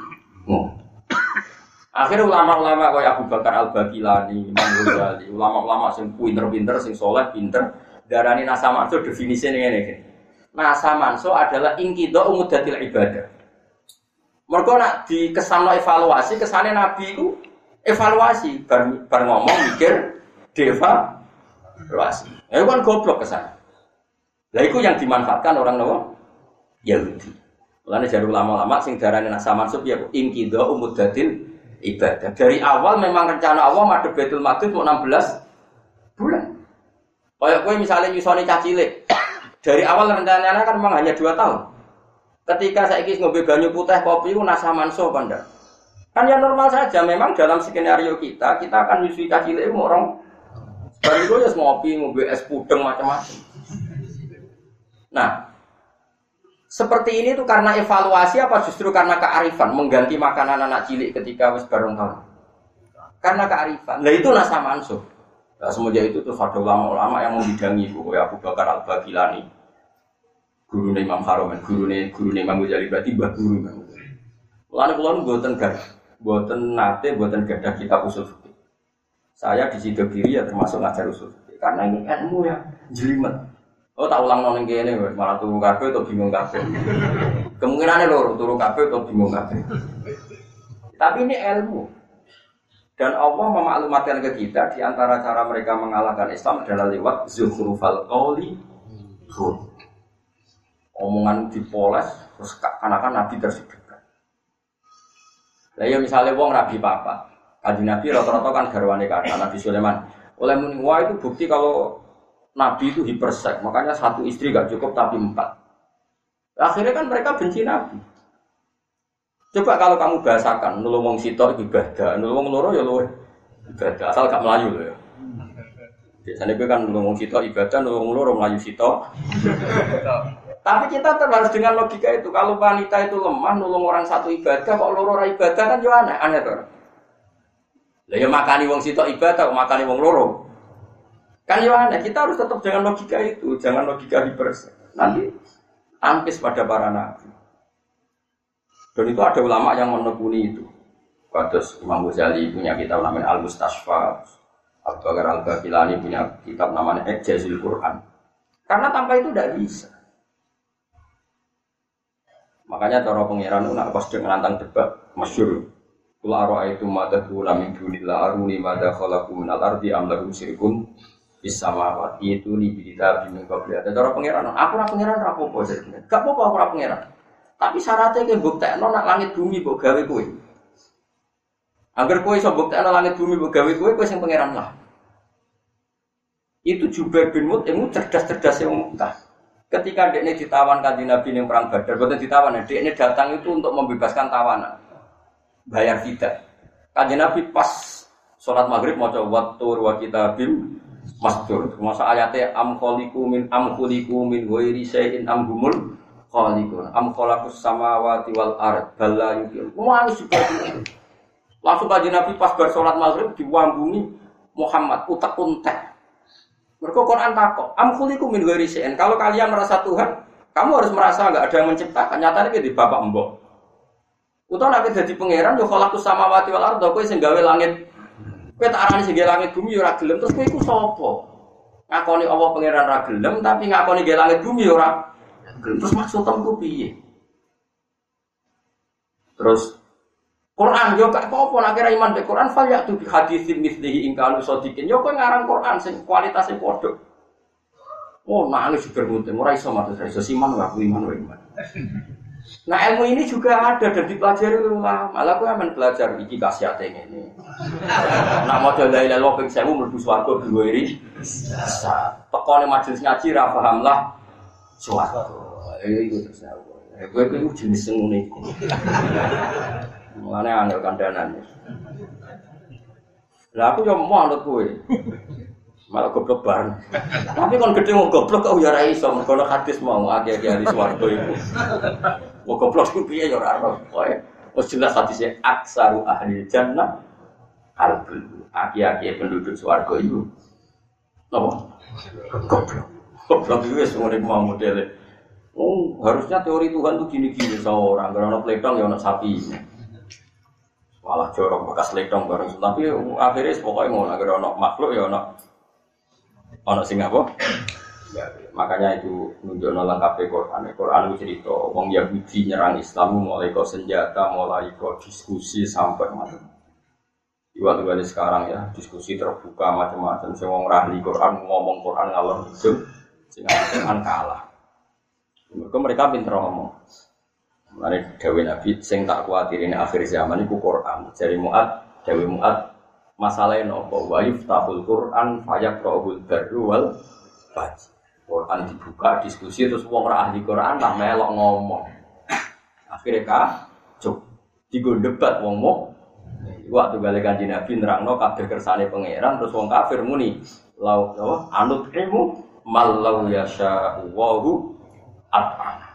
Speaker 1: akhirnya ulama-ulama kayak Abu Bakar Al-Baqilani, Imam Ghazali, ulama-ulama sing pinter-pinter, sing soleh pinter, darani Nasa Mansuh definisinya ini. Nasa Mansuh adalah inqidha umudatil ibadah. Mergo nak dikesanno evaluasi, kesane Nabi itu evaluasi, bar ngomong mikir devaluasi. Ya kan goblok kesana. Lah itu yang dimanfaatkan orang Nawa Yahudi. Mulane jare ulama-ulama sing darane Nasa Mansuh ya inqidha umudatil ibadah. Dari awal memang rencana Allah madhep Baitul Maqdis mau 16 bulan. Kayak kowe misalnya nyusoni cah cilik. Dari awal rencananya kan memang hanya 2 tahun. Ketika saiki ngombe banyu putih kopi ku nasa manso apa ndak? Kan ya normal saja, memang dalam skenario kita akan nyusui cah cilik orang baru itu ya ngopi, ngombe es pudeng macam-macam. Nah, seperti ini tuh karena evaluasi apa justru karena kearifan mengganti makanan anak cilik ketika wis bareng tahun? Karena kearifan. Nah itu nasa mansuh. Nah, semenjak itu tuh ada ulama-ulama yang membidangi Bu Abu Bakar Al-Bagilani, guru Imam Haromen, guru Imam Ghazali, berarti mbah guru Imam Ghazali. Mulane kula mboten nate gadah kitab usul fikih. Saya di Sidogiri ya termasuk ngajar usul fikih karena ini ilmu yang jelimet. Oh tak ulang nang kene malah turu kabeh atau bingung kabeh. Kemungkinane loro turu kabeh atau bingung kabeh. Tapi ini ilmu. Dan Allah memaklumatkan ke kita di antara cara mereka mengalahkan Islam adalah lewat zukhrufal qawli. Omongan dipoles terus kan Nabi tersebutkan. Lah ya misalnya wong rabi papa. Kanjeng Nabi rata-rata kan garwane kata Nabi Sulaiman. Oleh muni wah itu bukti kalau Nabi itu hipersek, makanya 1 istri gak cukup tapi 4. Akhirnya kan mereka benci Nabi. Coba kalau kamu bahasakan, nulung wong sitok ibadah, nulung wong loro ya luwih ibadah, asal gak melayu loh ya. Biasanya gue kan nulung wong sitok ibadah, nulung wong loro melayu sitok. Tapi kita harus dengan logika itu, kalau wanita itu lemah, nulung orang 1 ibadah, kok loro ora ibadah kan yo aneh tuh. Lah ya makani wong sitok ibadah, kok makani wong loro. Kan yo aneh, kita harus tetap dengan logika itu, jangan logika hipersek. Nanti ampis pada para nabi. Dan itu ada ulama yang menekuni itu. Kados Imam Ghazali punya kitab namanya Al-Mustasfa, Abu Bakar Al-Bagilani punya kitab namanya Ijazul Quran. Karena tanpa itu tidak bisa. Makanya cara pengiran nak pas dengan nantang debat masyhur. Qul ara'aytum ma tad'una min dunillahi aruni ma khalaqu min al-ardi am lahum syirkun fis samawati itu li bidzab min qabli. Cara pengiran, aku ora pengiran ra apa-apa jenenge. Gak apa-apa aku ora pengiran. Tapi syaratnya ke buktekno nak langit bumi mbok gawe kowe. Angger kowe iso buktekno langit bumi mbok gawe kowe sing pangeran lah. Itu Jubair bin Mut'im cerdas-cerdas yang entah. Ketika dekne ditawan kanjeng Nabi ning perang Badar, boten ditawan, dekne datang itu untuk membebaskan tawanan. Bayar fidyah. Kanjeng Nabi pas salat maghrib maca wattur wa kitabim mastur. Masa ayate am khuliqu min ghairi syai'in am humul khaliqun am khalaqus samawati wal ard bal la yuqin. Langsung kanjeng Nabi pas bar salat maghrib diwambungi Muhammad utek-untek. Mergo Quran takok, am khuliqu min ghairi syai'in. Kalau kalian merasa Tuhan, kamu harus merasa enggak ada yang menciptakan. Nyatane ki di bapak mbok. Utawa nek dadi pangeran yo khalaqus samawati wal ard, kowe sing gawe langit. Kowe tak arani sing gawe langit bumi yo ora gelem, terus kowe iku sapa? Ngakoni Allah pangeran ra gelem, tapi ngakoni gawe langit bumi yo ora. Terus maksudmu piye? Terus Quran yo gak apa-apa nek kira iman be Quran fal ya tu bi haditsin mislihi in kalu sadiqin. Yo kowe ngarang Quran sing kualitasé padha. Oh, nangis juga muntem ora iso matur iso siman wae iman wae iman. Nah, ilmu ini juga ada dan dipelajari ulama. Malah kowe amen belajar iki khasiate ngene. Nak maca la ilaha illallah ping 1000 mlebu swarga dhuwiri. Tekone majelis ngaji ra paham lah swarga. Iku terus aku. Kowe iku jenis sing ngene iki. Mulane angel kandanan. Lah aku yo mau anut kowe. Malah goblok bareng. Tapi kon gedhe wong goblok kok ya ora iso mergo hadis mau akeh-akeh ahli swarga iku. Wong goblok ku piye ya ora ono. Wis jelas hadise aksaru ahli jannah albul. Akeh-akeh penduduk swarga iku. Napa? Goblok. Goblok iki wis ngene mau modele. Oh, harusnya teori Tuhan tuh gini-gini seorang karena pledong ya ono sapi. Malah jorok bekas ledong bareng. Tapi akhirnya pokoknya ngono agar ono makhluk ya ono sing apa? Ya, makanya itu nunjukno lengkap Quran. Quran itu cerita wong Yahudi nyerang Islam mulai kok senjata, mulai kok diskusi sampai macam. Iwat-iwat sekarang ya, diskusi terbuka macam-macam. Sing wong ahli Quran ngomong Quran ngalor ngidul sing Quran kalah. Mereka pinter ngomong. Mane dawuh Nabi sing tak kuwatirine akhir zaman iku Quran. Jare Mu'ad, dawuh Mu'ad masalahe napa? Wa yuftahul Quran fayaqra'ul barru wal fajr. Quran dibuka diskusi terus wong ora ahli Quran lah melok ngomong. Akhire kacuk. Digo debat wong mok. Waktu balik Kanjeng Nabi nerangno kabeh kersane pangeran terus wong kafir muni lau anut ilmu malau yasha Allahu at'ana.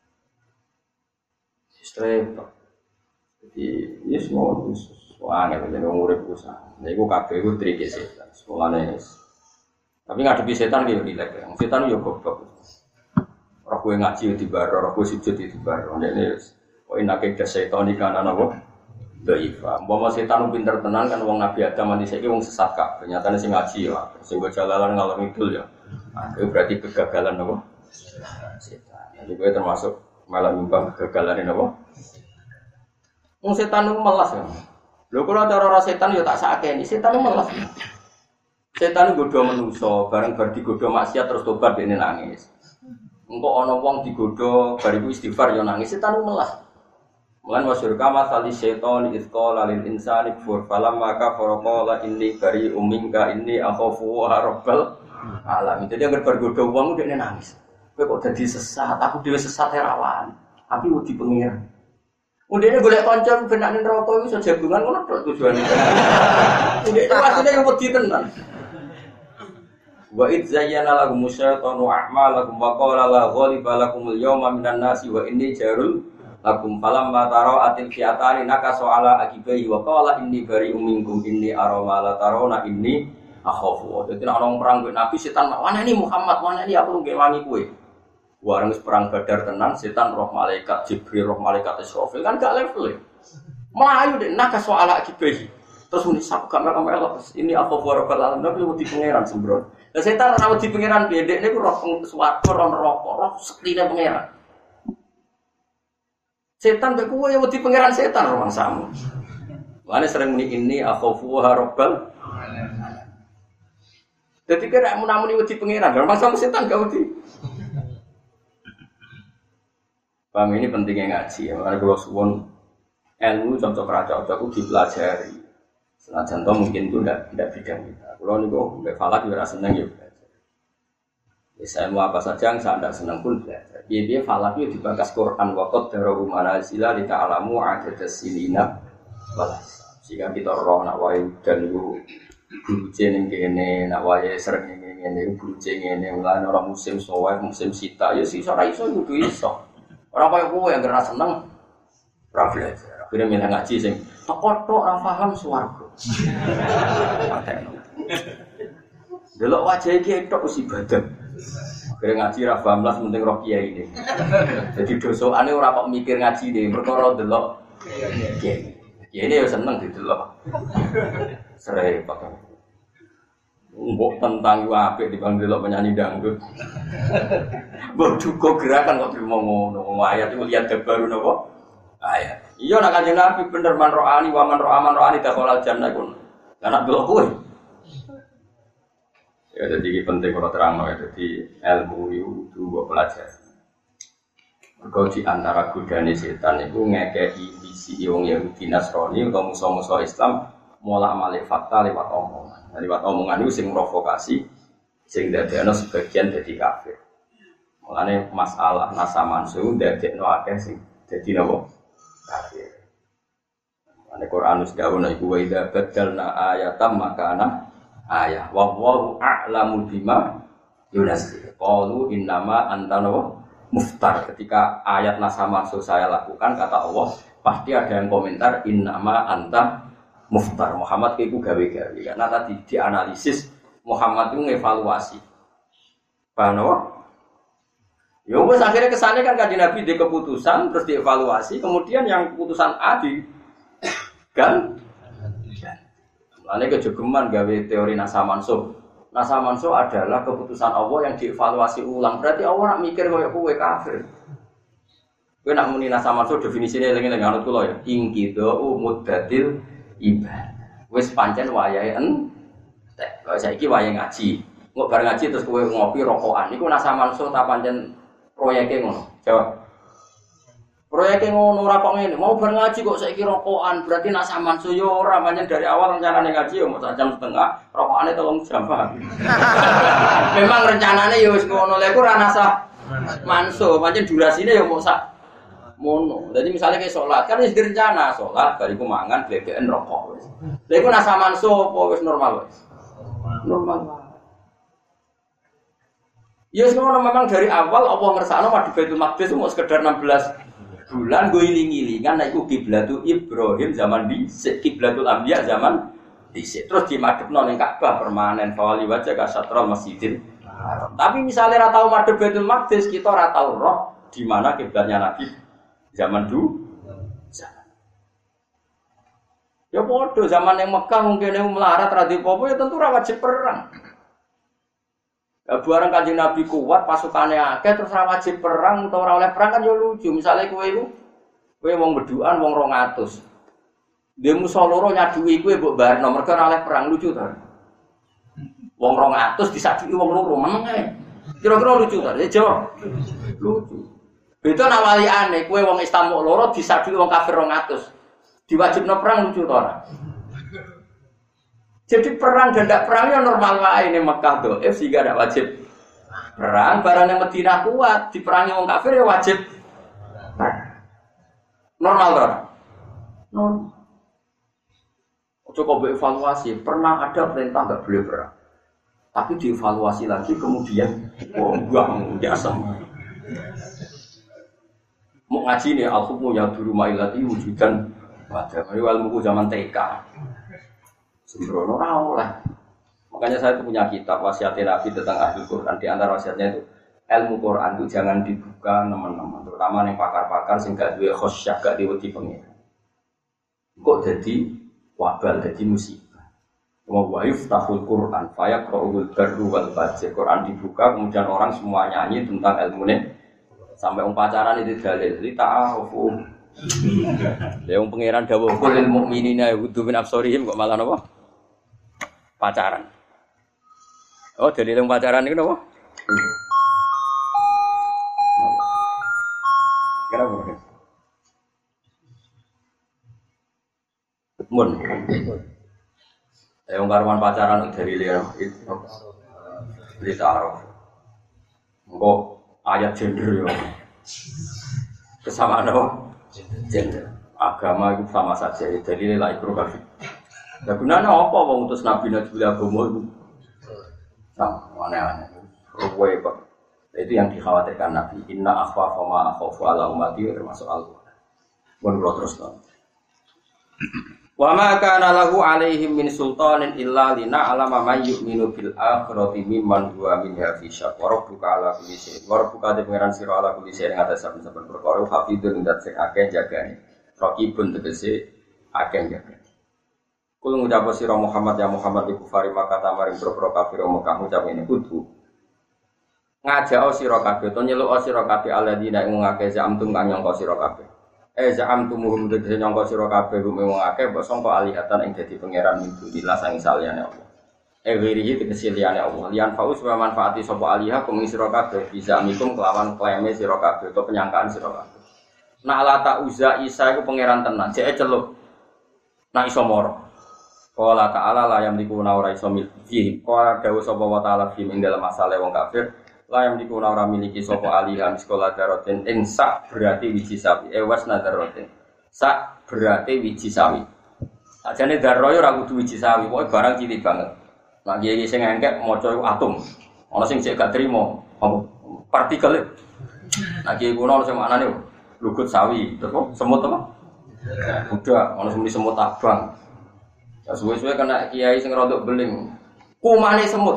Speaker 1: Straight. Jadi yes mau soalnya kalau ngurip usaha. Nah itu kabeh itu trik setan. Sekolahnya tapi ngadepi setan gitu rilek. Setan yo goblok. Ora kowe ngaji di bar, ora kowe sujud di bar. Ndekne kok enake des setan iki kan ana apa? Daifa. Umpama setan pinter tenan kan wong Nabi Adam mati saiki wong sesat kabeh. Nyatane sing ngaji ya, sing go jalalan ngalor ngidul ya. Nah, itu berarti kegagalan apa? Setan. Jadi kowe termasuk malah nyumbang kegagalan apa? Wong setan itu melas ya. Lho kalau cara setan ya tak sakeni, setan itu melas. Setan godho menungso, bareng bar digodho maksiat terus tobat dene nangis. Engko ana wong digodho bar iku istighfar ya nangis, setan itu melas. Mulan masyhur kama tali setan isqala lil insani kfur falamma kafara qala inni bari'um minka inni akhafu rabbal alamin. Jadi agar bergodho wong dekne nangis. Kowe kok dadi sesat, aku dhewe sesat rawan. Tapi wedi pengiran. Udene golek kanca ben nek neraka iku iso jagungan ngono tok tujuane. Udene asline yo wedi tenan. Wa id zayyana lahum syaitanu a'malakum wa qala la ghaliba lakumul yawma minan nasi wa inni jarul lakum falamma tara atil fi'atani nakasu ala akibai wa qala inni bari'um minkum inni ara ma la tarawna inni akhafu. Dadi nek ana perang kok Nabi setan mana ini Muhammad, mana ini aku nggih wangi kowe. Warang perang Badar tenan setan roh malaikat Jibril roh malaikat Israfil kan gak level ya. Melayu deh nakasu ala akibai. Terus muni sak gak melok ini akhafu rabbal alamin tapi wedi pangeran sembron. Lah setan ora wedi pangeran piye dekne ku roh swarga roh neraka roh sektine pangeran. Setan mbek kowe wedi pangeran setan roh mangsamu. Mane sering muni ini akhafu rabbal alamin. Dadi kira mun-muni wedi pangeran, roh mangsamu setan gak wedi. Paham ini pentingnya ngaji ya. Makanya kalau suwon ilmu cocok raja aku dipelajari. Senajan toh mungkin itu tidak bidang kita. Kalau nih kok mbak Falak juga seneng ya belajar. Saya mau apa saja yang saya tidak senang pun belajar. Dia Falak itu dibakas Quran wakot darohu manazila di ta'alamu adadas sinina balas. Jika kita roh nak wae dan itu guru jeneng kene nak wae sering ngene guru jeneng ngene mulai orang musim soal musim sita ya sih ora iso kudu iso. Orang kaya kowe yang kena seneng ora belajar. Akhire milih ngaji sing tok-tok ora paham swarga. Pateno. Delok wajah iki tok wis ibadah. Akhire ngaji ra paham lah penting roh kiai ini. Jadi dosane ora kok mikir ngaji ne, perkara delok kiai. Kiai ini ya seneng didelok. Sere pakai. Mbok tentang yo apik dibanding delok penyanyi dangdut. Mbok duka gerakan kok trimo ngono. Ayat itu lihat baru napa? Ayat. Iya nak Kanjeng Nabi bener man ro'ani wa man ro'aman ro'ani dakhalal jannah kun. Lah nak delok kowe. Ya jadi penting kalau terangno ya jadi ilmu itu mbok pelajari. Mergo di antara godane setan iku ngekeki visi wong Yahudi Nasrani utawa musuh-musuh Islam molak-malik fakta lewat omongan. Lewat omongan itu sing provokasi sing dadekno sebagian dadi kafir. Mulane masalah nasa mansu dadekno akeh sing dadi napa? Kafir. Mulane Quran wis dawuh iku wa idza badalna ayatam makana ayah wa wallahu a'lamu bima yunazil. Qalu innama anta muftar. Ketika ayat nasa mansu saya lakukan kata Allah, pasti ada yang komentar innama anta muftar. Muhammad itu gawe-gawe karena tadi dianalisis Muhammad itu ngevaluasi bahwa ya wes akhirnya kesannya kan Kanjeng Nabi di keputusan terus dievaluasi kemudian yang keputusan A di kan lalu kejogeman gawe teori nasa mansuh adalah keputusan Allah yang dievaluasi ulang berarti Allah nak mikir kayak kowe kafir kowe nak muni nasa mansuh definisinya eling-eling anut kula ya ingkido muddatil ibadah. Wis pancen wayahe entek. Kalau saiki wayahe ngaji. Engko bareng ngaji terus kowe ngopi rokokan. Iku nasa mansuh ta pancen proyeke ngono. Jawab. Proyeknya ngono ora kok ngene, mau bar ngaji kok saiki rokokan, berarti nak sampean suyo ora pancen dari awal rencanane ngaji ya mau 1 jam setengah, rokokane 3 jam. Memang rencanane ya wis ngono, lha iku ora nasah manso, pancen durasine ya mau sak mono. Jadi misalnya kayak sholat, kan wis direncana sholat, bariku mangan, glegen rokok wis. Lha iku nasah manso apa wis normal wis? Normal. Ya semua memang dari awal Allah ngersakno madu Baitul Maqdis mau sekedar 16 bulan gue iling-ilingan nek iku kiblatul Ibrahim zaman dhisik, kiblatul Anbiya zaman dhisik. Terus dimadhepno ning Ka'bah permanen fawali wajah ka Syatral Masjidil Haram. Tapi misalnya ora tau madhep Baitul Maqdis, kita ora tau roh di mana kiblatnya Nabi zaman dulu. Ya padha zaman yang Mekah mungkin melarat ra dipopo ya tentu ora wajib perang. Barang Kanjeng Nabi kuat, pasukannya akeh terus ora wajib perang utawa ora oleh perang kan yo lucu. Misale kowe wong bedukan wong 200. Dhe musa loro nyaduki kowe mbok barno mergo ora oleh perang lucu to. Wong 200 disaduki wong loro meneng ae. Kira-kira lucu to? Ya jawab. Lucu. Beda nak waliane kowe wong Islam loro disaduki wong kafir 200. Diwajibno perang lucu to ora? Jadi perang dan tidak perang ya normal wae ini Mekah dhaif sehingga tidak wajib perang. Barang yang Madinah kuat diperangi wong kafir ya wajib. Normal dong. Normal. Coba evaluasi, pernah ada perintah nggak boleh perang, tapi dievaluasi lagi kemudian buang biasa. Mau ngaji nih, al-hukmu ya duru mailati wujudan pada ilmu zaman TK. Sembrono lah. Makanya saya itu punya kitab wasiat Nabi tentang ahli Quran. Di antara wasiatnya itu ilmu Quran itu jangan dibuka teman-teman, terutama yang pakar-pakar sing gak duwe khosyah, gak diwedi pengiran. Kok jadi wabal, jadi musibah. Wa yaftahul Quran fa yaqra'ul barru wal fajr. Quran dibuka kemudian orang semua nyanyi tentang ilmunya. Sampai pacaran itu dalil li ta'arufu. Ya wong pangeran dawuh kul lil mukminina yaghuddu min absarihim kok malah napa? Pacaran. Oh, dalil yang pacaran itu apa? Kenapa? Mun. Yang karuan pacaran dari liar itu. Litaro. Engko ayat gender yo. Kesamaan apa? Gender. Agama itu sama saja. Jadi nilai progresif. Ya gunanya apa wong utus Nabi Najib agama itu? Sama aneh-aneh. Ruwe kok. Itu yang dikhawatirkan Nabi. Inna akhwafa ma akhafu ala ummati termasuk Al-Qur'an. Mun kula teruskan. Wa ma kana lahu alaihim min sultanin illa lina alama may yu'minu bil akhirati mimman huwa minha fi syak. Wa rabbuka ala kulli syai'. Wa rabbuka te pangeran sira ala kulli syai' ing atas saben-saben perkara hafidun dat sing akeh jagane. Raqibun tegese akeh jagane. Kul ngucap sira Muhammad ya Muhammad iku fari maka tamaring boro kafir Mekah ngucap ngene kudu ngajak sira kabeh to nyeluk sira kabeh alladzina ing ngake zamtum kang nyangka sira kabeh zamtum muhum tegese nyangka sira kabeh wong ngake mbok sangka alihatan ing dadi pangeran minulillah sang saliyane Allah wirihi tegese liyane Allah liyan faus wa manfaati sapa alihah kum sira kabeh bisa mikum kelawan klaime sira kabeh utawa penyangkaan sira kabeh nak la ta uza isa iku pangeran tenan jek celuk nak iso moro. Qala ta'ala la yamliku ora iso miliki. Qala dawuh sapa wa ta'ala fi ing dalam masalah wong kafir, la yamliku ora miliki sapa alihan sekolah daroten ing sak berarti wiji sawi. Was nadaroten. Sak berarti wiji sawi. Ajane darroyo ora kudu wiji sawi, pokoke barang cilik banget. Nah kiye sing engkek maca atom. Ana sing cek gak trimo apa partikel. Nah kiye kuno sing maknane lugut sawi, terus semut apa? Udah, ana sing semut abang. Ya suwe-suwe kena kiai sing rodok beling. Kumane semut.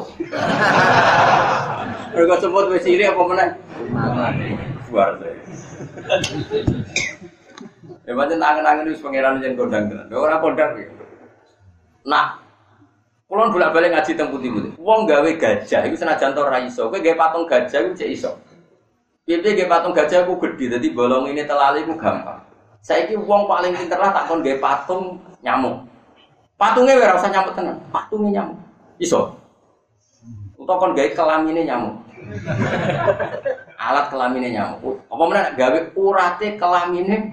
Speaker 1: Mergo semut wis iri apa meneh? Kumane. Luar biasa. Ya pancen tangan-tangan wis pangeran yen kondang tenan. Ora kondang iki. Nah, kula bolak-balik ngaji teng putih-putih. Wong gawe gajah iku senajan to ora iso. Kowe gawe patung gajah iku cek iso. Piye gawe patung gajah ku gedhi dadi bolong ini telali ku gampang. Saiki wong paling pinter lah tak kon gawe patung nyamuk. Patungnya ora usah nyamuk tenan, patungnya nyamuk. Iso. Utawa kon gawe kelamine nyamuk. alat kelamine nyamuk. Apa meneh gawe urate kelamine.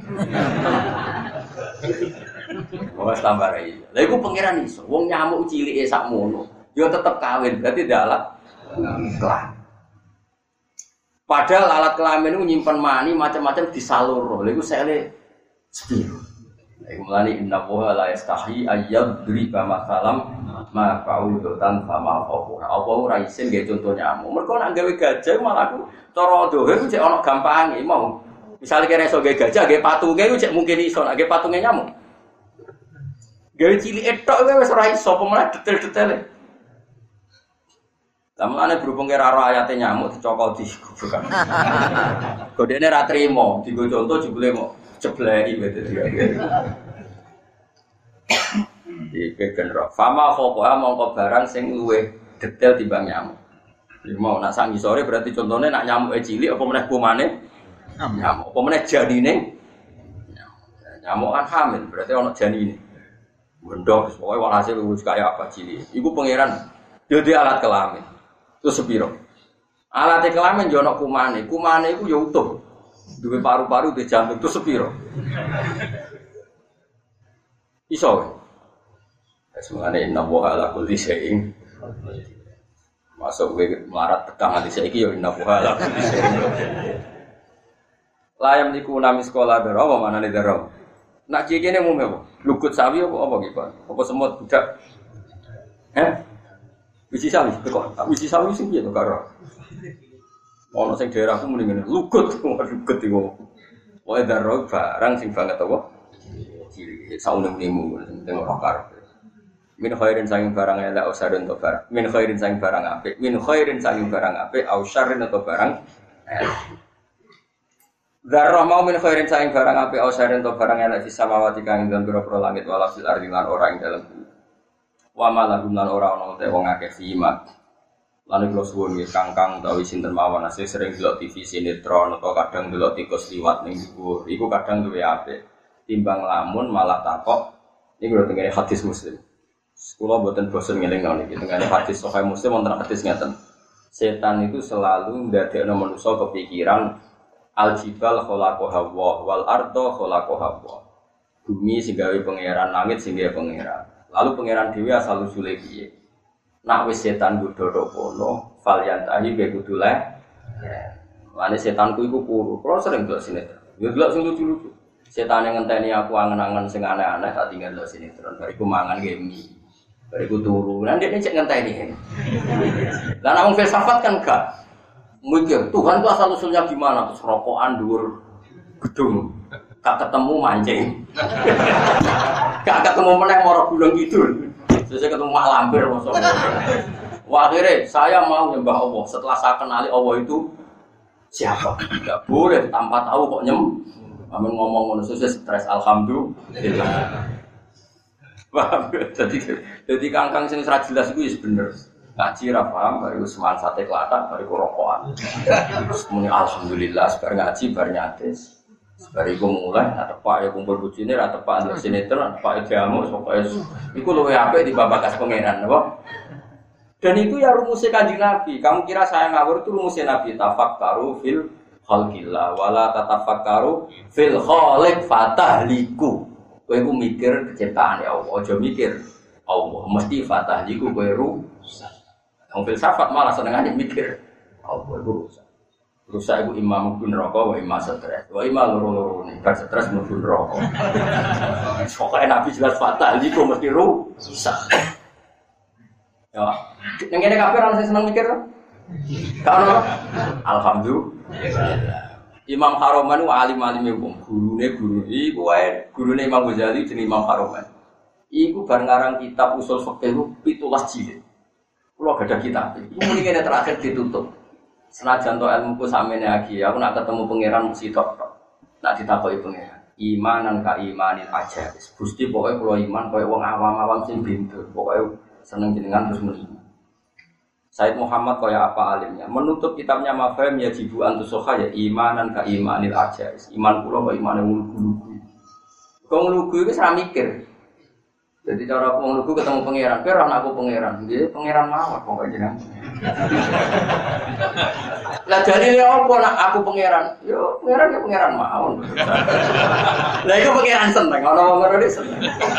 Speaker 1: Wong tambah rai. Lha iku pangeran iso. Wong nyamuk cilike sakmono, yo tetep kawin, berarti ndak alat kelamin. Padahal alat kelamin itu nyimpen mani macam-macam disalur. Lha iku sele sepiro. Iku mulane inna wa la yastahi ayyadriba masalam ma fa'udutan fama fawqa. Apa ora isin nggih conto nyamuk. Mergo nek gawe gajah malah aku cara dohe ku cek ana gampange mau. Misale kene iso gawe gajah, gawe patunge ku cek mungkin iso, nek gawe patunge nyamuk. Gawe cilik tok wis ora iso, apa meneh detail-detaile. Lamane berhubung karo ayate nyamuk dicokol di goblok. Godene ra trimo, digo conto jebule mau jebleki wete dia. Iki kenro. Fama khoqa mongko barang sing luwih detail timbang nyamuk. Iki mau nak sak ngisore berarti contone nak nyamuke cilik apa meneh kumane nyamuk. Apa meneh janine nyamuk. Nyamuk kan hamil berarti ana janine. Gendong pokoke walhasil wis kaya apa cilik. Iku pangeran yo di alat kelamin. Terus sepiro? Alat kelamin yo ana kumane. Kumane iku yo utuh. Duwe paru-paru di jantung itu sepiro. Iso. Semuanya inna woha ala kulli syai'in. Masuk gue melarat tekang hati saiki yo inna woha ala kulli syai'in. Layam diku nami sekolah daro apa manane daro. Nak kene mume apa? Lugut sawi apa iki, Pak? Apa semut budak? Wisi sawi kok. Wisi sawi sing piye to karo? Ono sing daerahku muni ngene, lugut iku. Wae daro barang sing banget apa? Cilik saune-unemu sing ora karep. Min khairin saking barang elek ausarun to barang. Min khairin saking barang apik, min khairin saking barang apik ausarun to barang elek. Dzarrah mau min khairin saking barang apik ausarun to barang elek fis samawati kang ing dalem pira langit wala fil ardi lan ora ing dalem. Wa malahum lan ora ana te wong akeh simat. Lan kula suwun nggih kangkang utawi sinten mawon asih sering delok TV sinetron atau kadang delok tikus liwat ning dhuwur. Iku kadang duwe apik. Timbang lamun malah takok iki lho tengene hadis Muslim. Kula mboten bosen ngelingno niki tengene hadis Sahih Muslim wonten hadis ngeten. Setan itu selalu ndadekno manusa kepikiran al-jibal khalaqaha wal ardo khalaqaha. Bumi sing gawe pangeran, langit sing gawe pangeran. Lalu pangeran dhewe asal usule piye? Nak wis setan godho kono, falyantahi be kudu le. Lane setanku iku puru. Kula sering delok sinetron. Yo delok sing lucu-lucu. Setan yang ngenteni aku angen-angen sing aneh-aneh tak tinggal delok sinetron. Bariku mangan gemi. Bariku turu. Lah ndekne cek ngenteni. Lah nek wong filsafat kan gak. Mikir Tuhan itu asal usulnya gimana? Terus rokokan dhuwur gedung. Gak ketemu mancing. Gak ketemu meneh mara gunung kidul. Terus saya ketemu mak lampir mosok. Wah, akhirnya saya mau nyembah Allah setelah saya kenali Allah itu siapa. Enggak boleh tanpa tahu kok amun ngomong ngono sukses stres alhamdulillah. Wah, jadi kangkang sing ora jelas iku wis bener. Ngaji ra paham baru semangat sate klatak baru rokokan. Terus muni alhamdulillah bar ngaji bar nyatis. Bariku mulai, ada pak ya kumpul bujine, ada pak ada sinetron, ada pak jamu, pokoknya itu luwe apik di babakas pangeran, apa? Dan itu ya rumusnya Kanjeng Nabi. Kamu kira saya ngawur itu rumusnya Nabi? Tafakkaru fil khalqillah, wala tatafakkaru fil khaliq fatahliku. Kowe iku mikir keciptaan ya Allah, aja mikir Allah mesti fatahliku kowe rusak. Wong filsafat malah senengane mikir Allah iku rusak. Rusak iku imam mlebu neraka wa imam stres. Wa imam loro-loro ning bar stres mlebu neraka. Pokoke Nabi jelas fatal iku mesti rusak. Ya, ning kene kabeh ora sing seneng mikir. Gak ono. Alhamdulillah. Imam Haroman ku alim-alime wong, guru. Iku wae gurune Imam Ghazali jenenge Imam Haroman. Iku bar ngarang kitab usul fikih 17 jilid. Kula gadah kitab. Iku muni kene terakhir ditutup. Senajan to ilmuku samene lagi, aku nak ketemu pangeran mesti tok. Nak ditakoki pangeran. Imanan ka imanil aja. Gusti pokoke kula iman koyo wong awam-awam sing bintur. Pokoke seneng jenengan terus muni. Said Muhammad kaya apa alimnya? Menutup kitabnya Mafhum ya jibu antusoha ya imanan ka imanil aja. Iman kula kaya imane lugu-lugu. Kok lugu iku ora mikir.
Speaker 2: Jadi cara wong lugu ketemu pangeran, kowe ora aku pangeran. Nggih, pangeran mawon pokoke jenengan. Lah dalile opo nak aku pangeran? Yo pangeran ya pangeran mawon. Lah iku pangeran seneng, ana wong ngono seneng.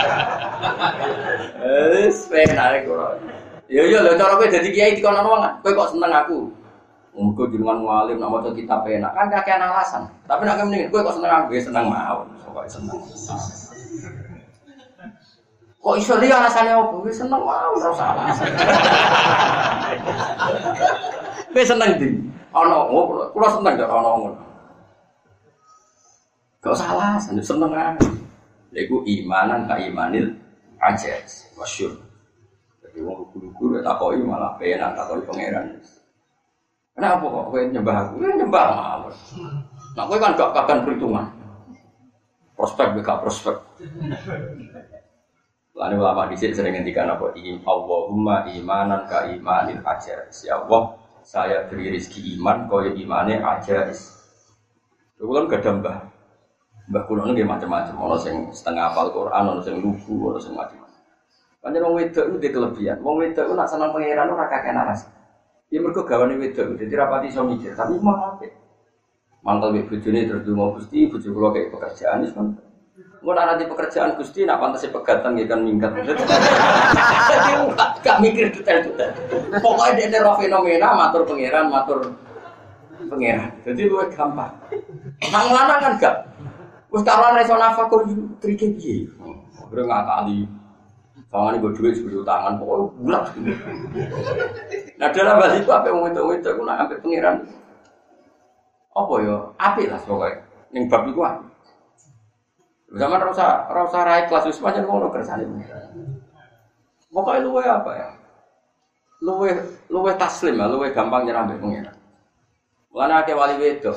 Speaker 2: Penak kok. Yo lho cara kowe dadi kiai dikono wong, kowe kok seneng aku. Muga jenengan mualim nak maca kitab enak kan kakean alasan. Tapi nek mending kowe kok seneng aku, seneng mawon, pokoke seneng. Kok iso liya alasannya opo? Wis seneng wae ora usah alasan. Wis seneng ndi? Ana opo? Kula seneng kok ana ngono. Gak usah alasan, seneng ae. Lha iku imanan ka imanil ajaz, masyhur. Jadi wong guru-guru takoki malah penak takoki pangeran. Kenapa kok kowe nyembah aku? Nyembah mawon. Nah kowe kan gak kakan perhitungan. Prospek gak prospek. Lalu ulama dhisik sering ngendikan apa Allahumma imanan ka imanil ajais. Ya Allah, saya beri rezeki iman kaya imane ajais. Kulo kan gadah mbah. Mbah kulo nggih macam-macam, ana sing setengah hafal Quran, ana sing lugu, ana sing macam-macam. Pancen wong wedok ku ndek kelebihan. Wong wedok ku nak seneng pangeran ora kakek naras. Ya mergo gawane wedok, dadi rapati iso mikir, tapi malah apik. Mangkel mek bojone terus ndonga Gusti, bojo kula kaya pekerjaan wis kan. Mun ana di pekerjaan Gusti nak pantese pegatan nggih kan minggat. Dadi gak mikir detail-detail. Pokoke dene ro fenomena matur pangeran, matur pangeran. Dadi luwih gampang. Nang lanang kan gak. Wis karuan iso nafakur trike piye. Ora ngakali. Sawangane go dhuwit sebulu tangan pokoke bulat. Nah dalam hal itu apa wong wedok-wedok ku nak ambek pangeran. Apa ya? Apik lah pokoke. Ning bab iku apik. Zaman rasa rai kelas wis pancen ngono kersane. Pokoke luwe apa ya? Luwe taslim, luwe gampang nyerah mbek pengen. Mulane akeh wali wedok.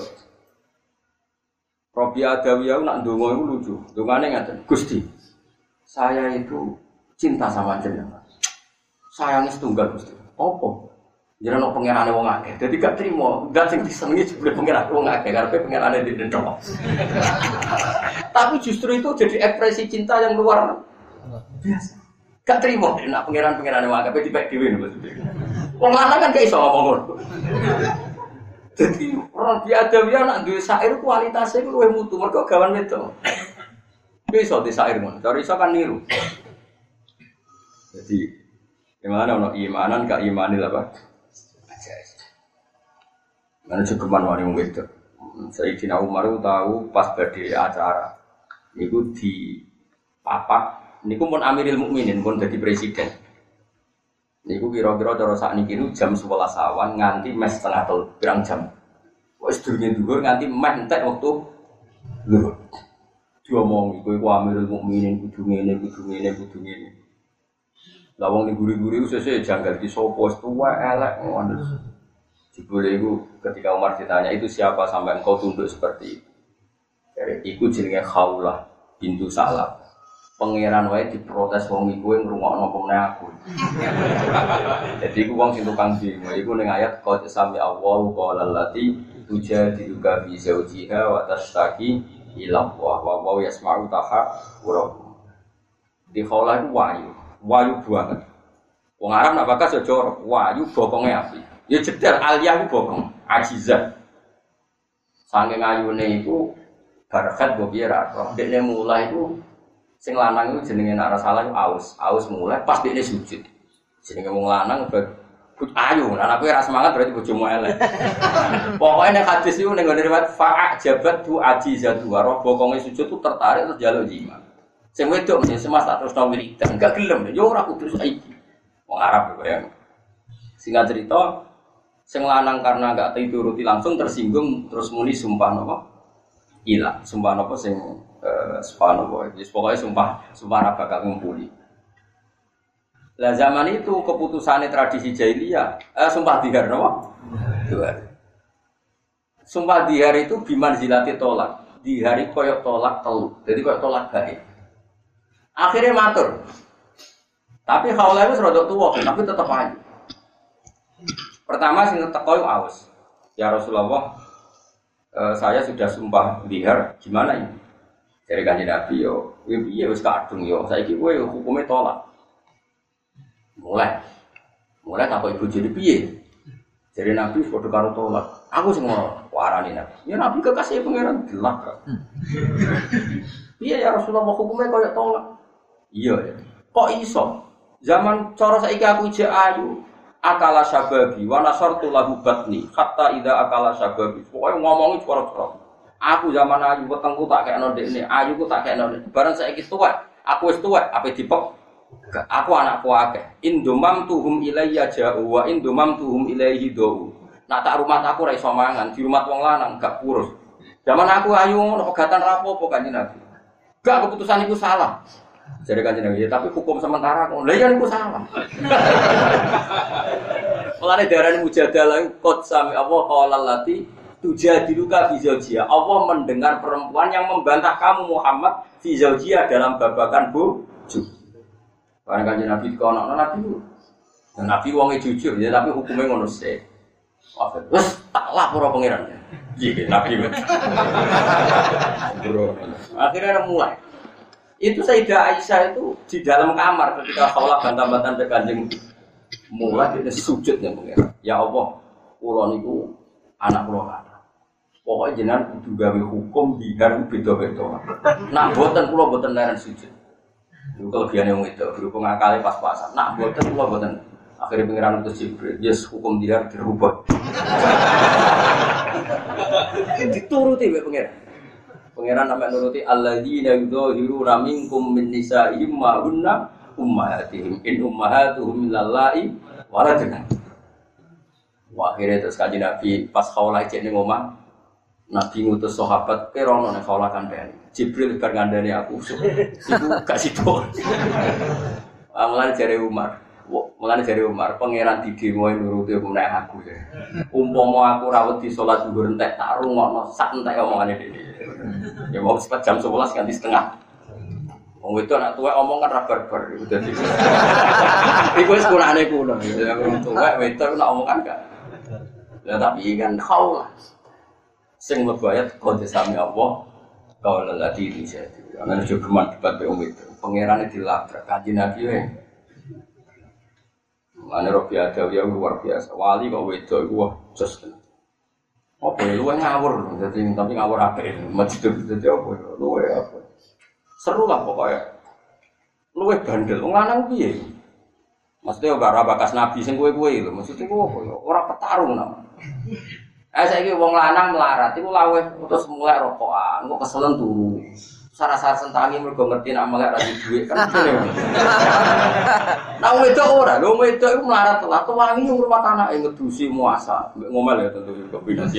Speaker 2: Robi Adawiyah nak ndonga iku lucu. Ndongane ngaten, Gusti. Saya itu cinta sama jenengan. Sayangnya setunggal Gusti. Apa? Jenengan pengerane wong akeh. Dadi gak trimo, gak sing disenengi jebule pengerane wong akeh karepe pengerane dendok. Tapi justru itu jadi ekspresi cinta yang luar biasa. Gak terima nak pangeran-pangeran wong akeh dipek dhewe maksudnya. Wong lanang kan gak iso ngomong ngono. Jadi orang biadawiyah nak duwe syair kualitasnya ku luwih mutu mergo gawan wedok. Iso di syair ngono, cara iso kan niru. Jadi gimana ono imanan ka imanil apa? Mana cukup wani wong wedok. Sayyidina Umar tahu pas badhe acara niku di papak niku pun Amirul Mukminin pun jadi presiden. Niku kira-kira cara sakniki niku jam 11 awan nganti mes setengah telu pirang jam. Wis durunge dhuwur nganti meh entek wektu dhuwur. Diomong iku Amirul Mukminin kudu ngene kudu ngene kudu ngene. Lah wong ning guri-guri sesuk janggal di sapa wis tuwa elek ngono. Jebule iku ketika Umar ditanya itu siapa sampai engkau tunduk seperti itu. Dari iku jenenge Khaulah bintu Salam. Pangeran wae diprotes wong iku ngrungokno pemene aku. Jadi iku wong sing tukang demo iku ning ayat qad sami Allahu qala allati tujadiluka fi zawjiha wa tashtaki ila Allah wa wa yasma'u tahawurakum. Di Khaulah iku wayu banget. Wong Arab nak bakas yo jorok, wayu bokonge api. Ya jedar aliyah ku bokong, ajizah. Saking ayune iku barakat mbok piye ra roh. Dekne mulai iku sing lanang iku jenenge nek ora salah aus mulai pas dekne sujud. Jenenge wong lanang ayu, nek kowe ora semangat berarti bojomu elek. Pokoke nek hadis iku ning riwayat fa'a jabat tu ajizatu roh bokonge sujud tu tertarik terus njaluk jima. Sing wedok mesti semas tak terus tau wiridan, enggak gelem yo ora kudu saiki. Wong Arab ya. Singkat cerita sing lanang karena enggak dituruti langsung tersinggung terus muni sumpah napa? Ilang. Sumpah napa sing sumpah napa? Wis pokoke sumpah ora bakal ngumpuli. Lah zaman itu keputusane tradisi jahiliyah, sumpah dihar napa? Sumpah dihar itu biman zilati tolak. Dihari koyok tolak telu. Jadi koyok tolak gaib. Akhirnya matur. Tapi Khaulah itu rodok tuwa, tapi tetep ayu. Pertama sing teko aus. Ya Rasulullah, saya sudah sumpah dihar, gimana ini? Dari Kanjeng Nabi yo, piye wis kadung yo, saiki kowe hukume tolak. Mulai takut ibu jadi piye? Jadi Nabi padha karo tolak. Aku sing warani Nabi. Ya Nabi kekasih pangeran gelap. Piye ya Rasulullah hukumnya koyo tolak? Iya ya. Kok iso? Zaman cara saiki aku ijek ayu. Akala syababi wa nasartu lahu batni hatta idza akala syababi. Pokoke ngomongi cara-cara. Aku zaman ayu wetengku tak kekno ndekne, ayuku tak kekno. Bareng saiki tuwek, aku wis tuwek, ape dipek? Aku anakku akeh. Indomam tuhum ilayya ja'u wa indomam tuhum ilayhi do. Nak tak rumah aku ra iso mangan, di rumah wong lanang gak kurus. Zaman aku ayu ngono pegatan rapopo Kanjeng Nabi. Gak keputusan iku salah. Jadi Kanjeng Nabi, tapi hukum sementara kok. Lah iya niku salah. Mulane darane mujadalah qad sami Allah qala lati tujadiluka fi zawjiha. Allah mendengar perempuan yang membantah kamu Muhammad fi zawjiha dalam babakan bojo. Karena Kanjeng Nabi dikono Nabi. Nabi wonge jujur ya tapi hukumnya ngono sih. Wes tak lapor pangeran. Iya Nabi. Akhirnya mulai. Itu Sayyidah Aisyah itu di dalam kamar ketika Khawlah bantah-bantahan ke Kanjeng mulai dia sujud ya pangeran. Ya Allah, kula niku anak kula lanang. Pokoke jenengan kudu gawe hukum biar beda-beda. Nak boten kula boten leren sujud. Itu kelebihan yang itu, berhubung akali pas-pasan. Nak buatan, kula buatan. Akhirnya pengiran itu Jibril, yes hukum dia dirubah. Dituruti pengiran. Pengiran namanya nuruti alladzina yudhahiruna minkum min nisa'ihim ma hunna ummahatihim in ummahatuhum lillahi waladna. Akhirnya terus Kanjeng Nabi pas Khawlah ijek ning omah Nabi ngutus sahabat kerono nek Khawlah kandhani. Jibril bar ngandani aku. Iku gak sido. Mulane jare Umar, pangeran didemo nuruti menek aku. Umpama aku rawuh di salat zuhur entek tak rungokno sak entek omongane dhewe. Ya mau sepat jam 11 ganti setengah. Wong wedok anak tuwek omong kan ra barbar iku dadi. Iku wis kurane kuno. Ya wong tuwek wedok nek omong kan gak. Ya tapi kan Khawlah. Sing mlebu ayat qad sami Allah qaula lati dijadi. Ana jogeman debat be itu. Pangerane dilabrak Kanjeng Nabi wae. Mane Robi Adawiyah luar biasa. Wali kok wedok iku wah jos. Apa luwe ngawur dadi tapi ngawur apik. Masjid dadi apa luwe apa. Seru lah pokoknya. Luwe bandel wong lanang piye? Maksudnya ora bakas nabi sing kowe-kowe lho. Maksudnya kok ora petarung nama. Saiki wong lanang melarat iku laweh terus mulai rokokan, kok keselen turu. Sara-sara sentangi mergo ngerti nek melek ra duwe kan ngene. Nah wedok ora, lho wedok iku melarat telat wangi rumah anake ngedusi muasa. Ngomel ya tentu kombinasi.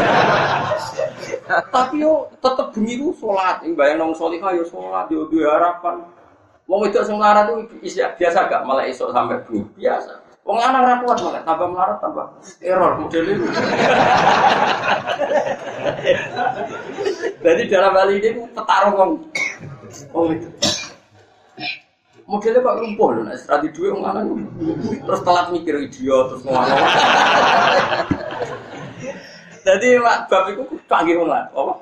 Speaker 2: Tapi yo tetep bengi ku salat, bayang nang salihah yo salat yo duwe harapan. Wong wedok sing melarat itu biasa gak melek esuk sampai bengi biasa. Wong lanang ra kuat malah tambah melarat tambah error model itu. Jadi dalam hal ini petarung wong. Oh itu. Modelnya kok lumpuh lho nek strategi duwe wong lanang. Terus telat mikir idiot terus ngono. Jadi bab iku panggil wong lanang. Apa?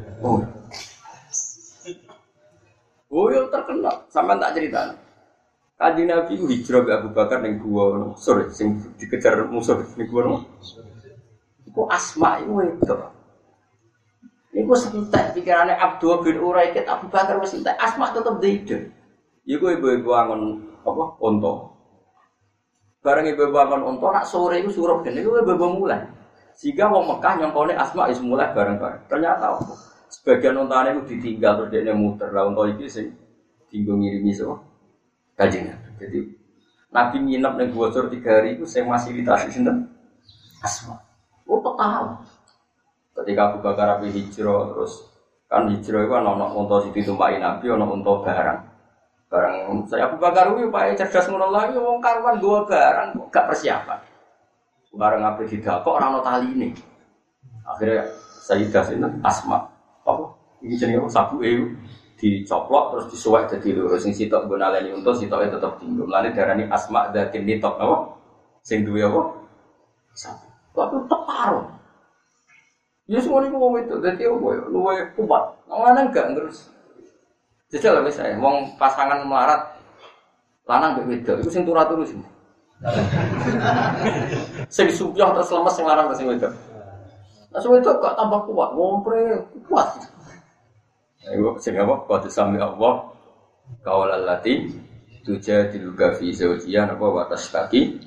Speaker 2: Oh yo terkenal sampean tak critani. Kanjeng Nabi hijrah ke Abu Bakar ning gua sore sing dikejar musuh ning gua. Iku Asma iku wedok. Iku sentek pikirane Abdul bin Uraikid Abu Bakar wis entek Asma tetep dhewe. Iku ibu-ibu angon apa unta. Bareng ibu-ibu angon unta nak sore iku suruh gene iku ibu-ibu mulai. Sehingga wong Mekah nyongkone Asma wis mulai bareng-bareng. Ternyata apa? Sebagian untane iku ditinggal terus dekne muter. Lah unta iki sing dinggo ngirimi sapa? Kanjeng. Jadi Nabi nginep ning Bogor 3 hari itu sing fasilitasi sinten? Asma. Oh total. Ketika Abu Bakar Abi hijrah terus kan hijrah itu ana unta sing ditumpaki Nabi ana unta barang. Barang saya Abu Bakar kuwi upaya cerdas ngono lagi wong karuan dua barang gak persiapan. Barang ape didakok ora ana taline. Akhirnya Sayyidah sinten Asma. Apa? Iki jenenge sabuke dicoplok terus disuwek dadi loro sing sitok nggo naleni unta sitoke tetep dinggo. Mulane darani Asma dzatin nitok apa? Sing duwe apa? Sapi. Kok teparo. Ya semua niku wong itu dadi apa ya luwe kuat. Lanang gak terus Jajal wis saya wong pasangan melarat lanang mbek wedok iku sing turu-turu sing. Sing subyah terus lemes sing lanang sing wedok. Nah sing wedok gak tambah kuat, ngompre kuat. Iku sing apa? Qad sami Allah qaulal lati tujadiluka fi zawjiha napa wa tashtaki.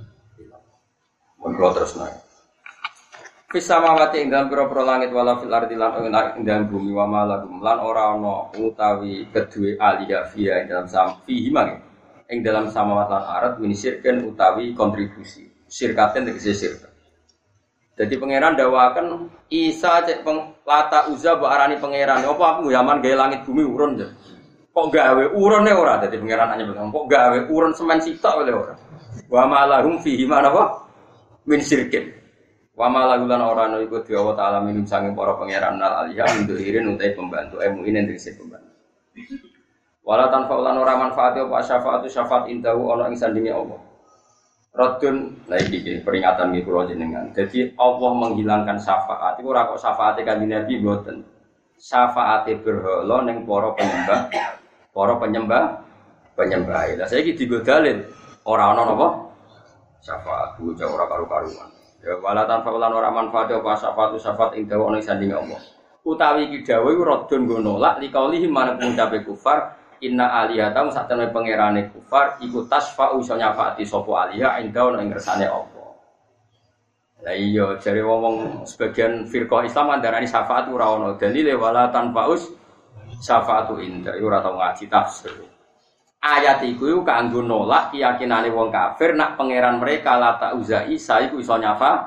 Speaker 2: Monggo terus naik. Fisamawati ing dalam pira-pira langit wala fil ardi lan ing dalam bumi wa malagum lan ora ana utawi kedue aliyah fiha ing dalam fihi mang ing dalam samawat lan ardh minisirken utawi kontribusi sirkaten tegese sirkat. Dadi pangeran dawaken Isa cek lata uza mbok arani pangeran apa aku zaman gawe langit bumi urun ya. Kok gawe urune ora dadi pangeran anyep kok gawe urun semen sitok oleh ora. Wa malahum fihi man apa min sirkin. Wa malagulan ora ana iku Dewa Allah taala minum sanging para pangeran nal aliyah nduhirin utai pembantu mu'minin tegese pembantu. Wala tanfa'ulan ora manfaate apa syafaatu syafaat indahu ana ing sandinge Allah. Radun lagi peringatan iki kula jenengan. Jadi Allah menghilangkan syafaat iku ora kok syafaate Kanjeng Nabi mboten. Syafaate berhala ning para penyembah. Lah saiki digo dalil ora ana napa? Syafaat bocah ora karo-karuan. Ya wala tanfa'ulan ora manfaate apa syafaatu syafaat indahu ana ing sandinge Allah. Utawi iki dawuh iku radun nggo nolak liqaulihi manut ngucape kufar inna alihatam satene pangerane kufar iku tasfa'u iso nyafaati sapa aliha indahu ing ngersane Allah. Lah iya jare wong sebagian firqah Islam andarani syafaat ora ana dalile wala tanfa'us syafaatu inda ora tau ngaji tafsir. Ayat iku kanggo nolak keyakinane wong kafir nak pangeran mereka lata uza Isa iku iso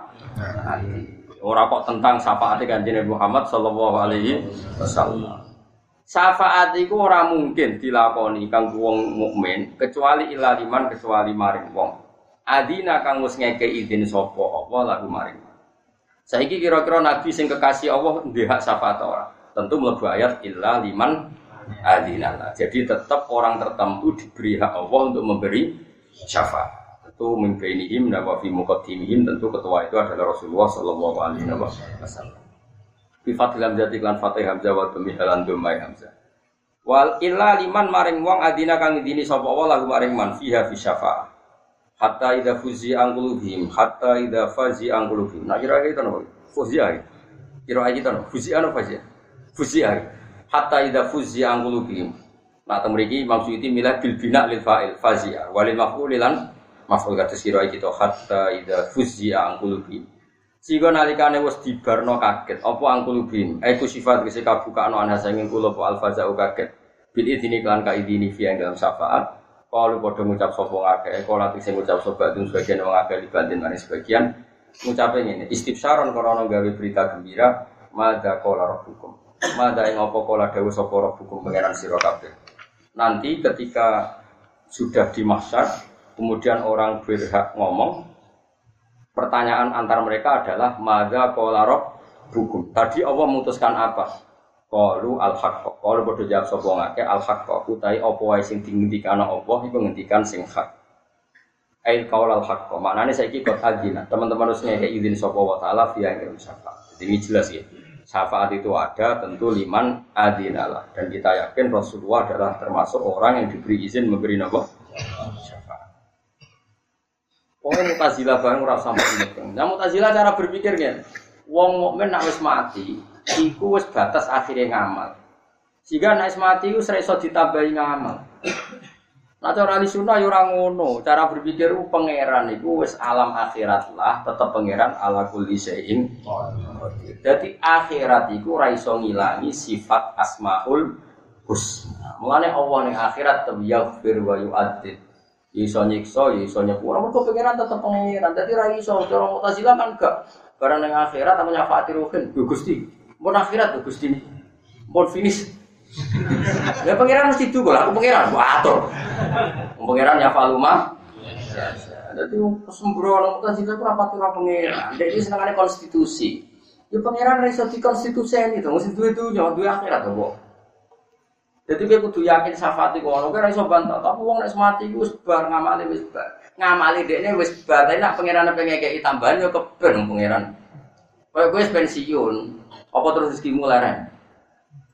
Speaker 2: nyafaati. Ora kok tentang syafaate Kanjeng Muhammad sallallahu alaihi wasallam. Syafaat iku ora mungkin dilakoni kanggo wong mukmin kecuali ilaliman kecuali maring wong. Adina kang wis ngekeki izin sapa apa lagu maring. Saiki kira-kira nabi sing kekasih Allah ndek hak syafaat ora? Tentu mlebu ayat illa liman adina. Jadi tetap orang tertentu diberi hak Allah untuk memberi syafaat. Tentu mimpiinihim wa fi muqaddimihim tentu ketua itu adalah Rasulullah sallallahu alaihi wasallam. Bi fadlan jati lan fatih hamzah wa dhammi halan dhammai hamzah. Wal illa liman maring wong adina kang idini sapa Allah lagu maring man fiha fi syafaat. Hatta idza fuzi angqulubihim hatta idza fazi angqulubihim. Nah kira-kira itu napa? Fuzi ae. Kira-kira itu napa? Fuzi ana fazi. Fuzi ae. Hatta idza fuzi angqulubihim. Nah temriki maksud iki milah bil bina lil fa'il fazia walil maf'ul lan maf'ul kata sira iki to hatta idza fuzi angqulubihim. Sehingga nalikane wis dibarno kaget apa angqulubihim. Iku sifat kese kabukane ana sanging kula apa alfazau kaget. Bil idini kan ka idini fi dalam syafaat. Kalau padha ngucap sapa ngakeh, kalau ati sing ngucap sapa itu sebagian wong akeh libatin maring sebagian ngucape ngene, istibsyaron krana gawe berita gembira, madza qala rabbukum. Madza ing apa kala dawuh sapa rabbukum pangeran sira kabeh. Nanti ketika sudah di mahsyar, kemudian orang berhak ngomong, pertanyaan antar mereka adalah madza qala rabbukum. Tadi Allah memutuskan apa? Qalu al-haqq. Qalu padha jawab sapa ngake al-haqq. Utahe apa wae sing dingendikane Allah iku ngendikan sing hak. Ai qaul al-haqq. Maknane saiki kok adina. Teman-teman harus ngeke izin sapa wa taala via yang syafaat. Jadi ini jelas ya. Syafaat itu ada tentu liman adinalah dan kita yakin Rasulullah adalah termasuk orang yang diberi izin memberi napa? Syafaat. Wong Mu'tazilah bareng ora sampe ini. Nah Mu'tazilah cara berpikirnya wong mukmin nek wis mati iku wis batas akhire ngamal. Jika nek mati iku ora iso ditambahi ngamal. Nah cara ahli sunnah ya ora ngono. Cara berpikir pangeran iku wis alam akhirat lah, tetep pangeran ala kulli syai'in. Jadi akhirat iku ora iso ngilangi sifat asmaul husna. Mulane Allah ning akhirat yaghfir wa yu'adzib. Iso nyiksa, iso nyepura, mergo pangeran tetep pangeran. Dadi ora iso cara Mu'tazilah kan gak. Barang ning akhirat apa nyafaati ruhin, Gusti. Mun akhirat tuh Gusti. Mun finish. Ya pangeran mesti itu kok, aku pangeran, gua atur. Pangeran ya faluma. Dadi sembrono Mu'tazilah ku rapat karo pangeran. Dadi senengane konstitusi. Ya pangeran ra iso dikonstituseni to, mesti duwe akhirat kok. Dadi kowe kudu yakin syafaat iku ono, kowe ra iso bantah. Tapi wong nek mati iku wis bar ngamali wis bar. Ngamali dekne wis bar, tapi nek pangeran pengen ngekeki tambahan ya keben pangeran. Kowe wis pensiun, apa terus rezekimu leren?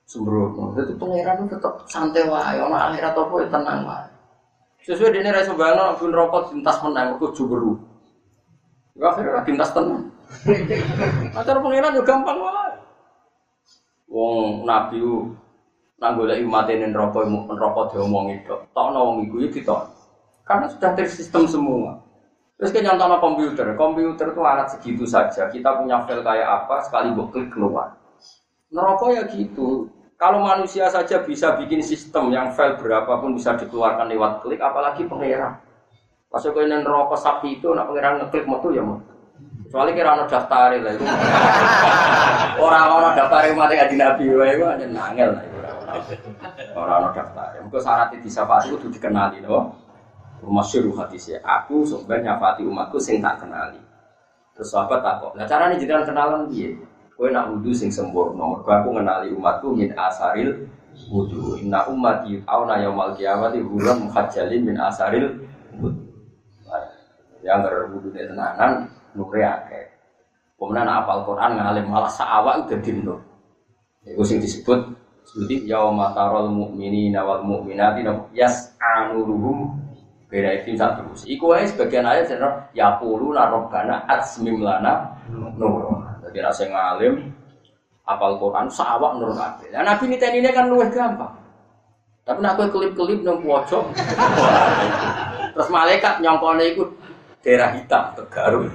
Speaker 2: sembrono. Dadi pangeran tetep santai wae, ana akhirat apa ya tenang wae. Sesuai dene ra sembayang ben rokok dintas menang mergo jumberu. Ya akhirnya dintas tenang. Acara pangeran yo gampang wae. Wong nabi ku nang golek umatene neraka diomongi tok. Tokno wong iku ya ditok. Karena sudah tersistem semua. Terus kita nyontono komputer. Komputer itu alat segitu saja. Kita punya file kayak apa, sekali buat klik keluar. Neraka ya gitu. Kalau manusia saja bisa bikin sistem yang file berapapun bisa dikeluarkan lewat klik, apalagi pangeran. Pas kau ini neraka sapi itu, nak pangeran ngeklik metu ya mau. Soalnya kira ada daftar lah itu. Orang-orang daftar mati kaji nabi, itu hanya nangel lah. Orang-orang daftar. Mungkin syarat disafati itu dikenali, loh. Masyhur hadisnya, aku sebenarnya nyafati umatku sing tak kenali. Terus sahabat takok, nah caranya jenengan kenalan piye? Kowe nak wudu sing sempurna, mergo aku ngenali umatku min asaril wudu. Inna ummati auna yaumal qiyamati hurum muhajjalin min asaril wudu. Yang berwudu tenanan nure akeh. Kemudian apal Quran ngalim malah saawak udah dinur. Iku sing disebut seperti yauma taral mu'minina wal mu'minati yas'anuruhum beda itu satu terus. Iku aja sebagian ayat sebenarnya ya pulu narobana atsmim lana nur. Jadi rasa ngalim apal Quran saawak nur kabeh. Nah Nabi niteni ini kan luwih gampang. Tapi nak kowe kelip-kelip nang pojok. Terus malaikat nyongkone iku daerah hitam Tegaruk.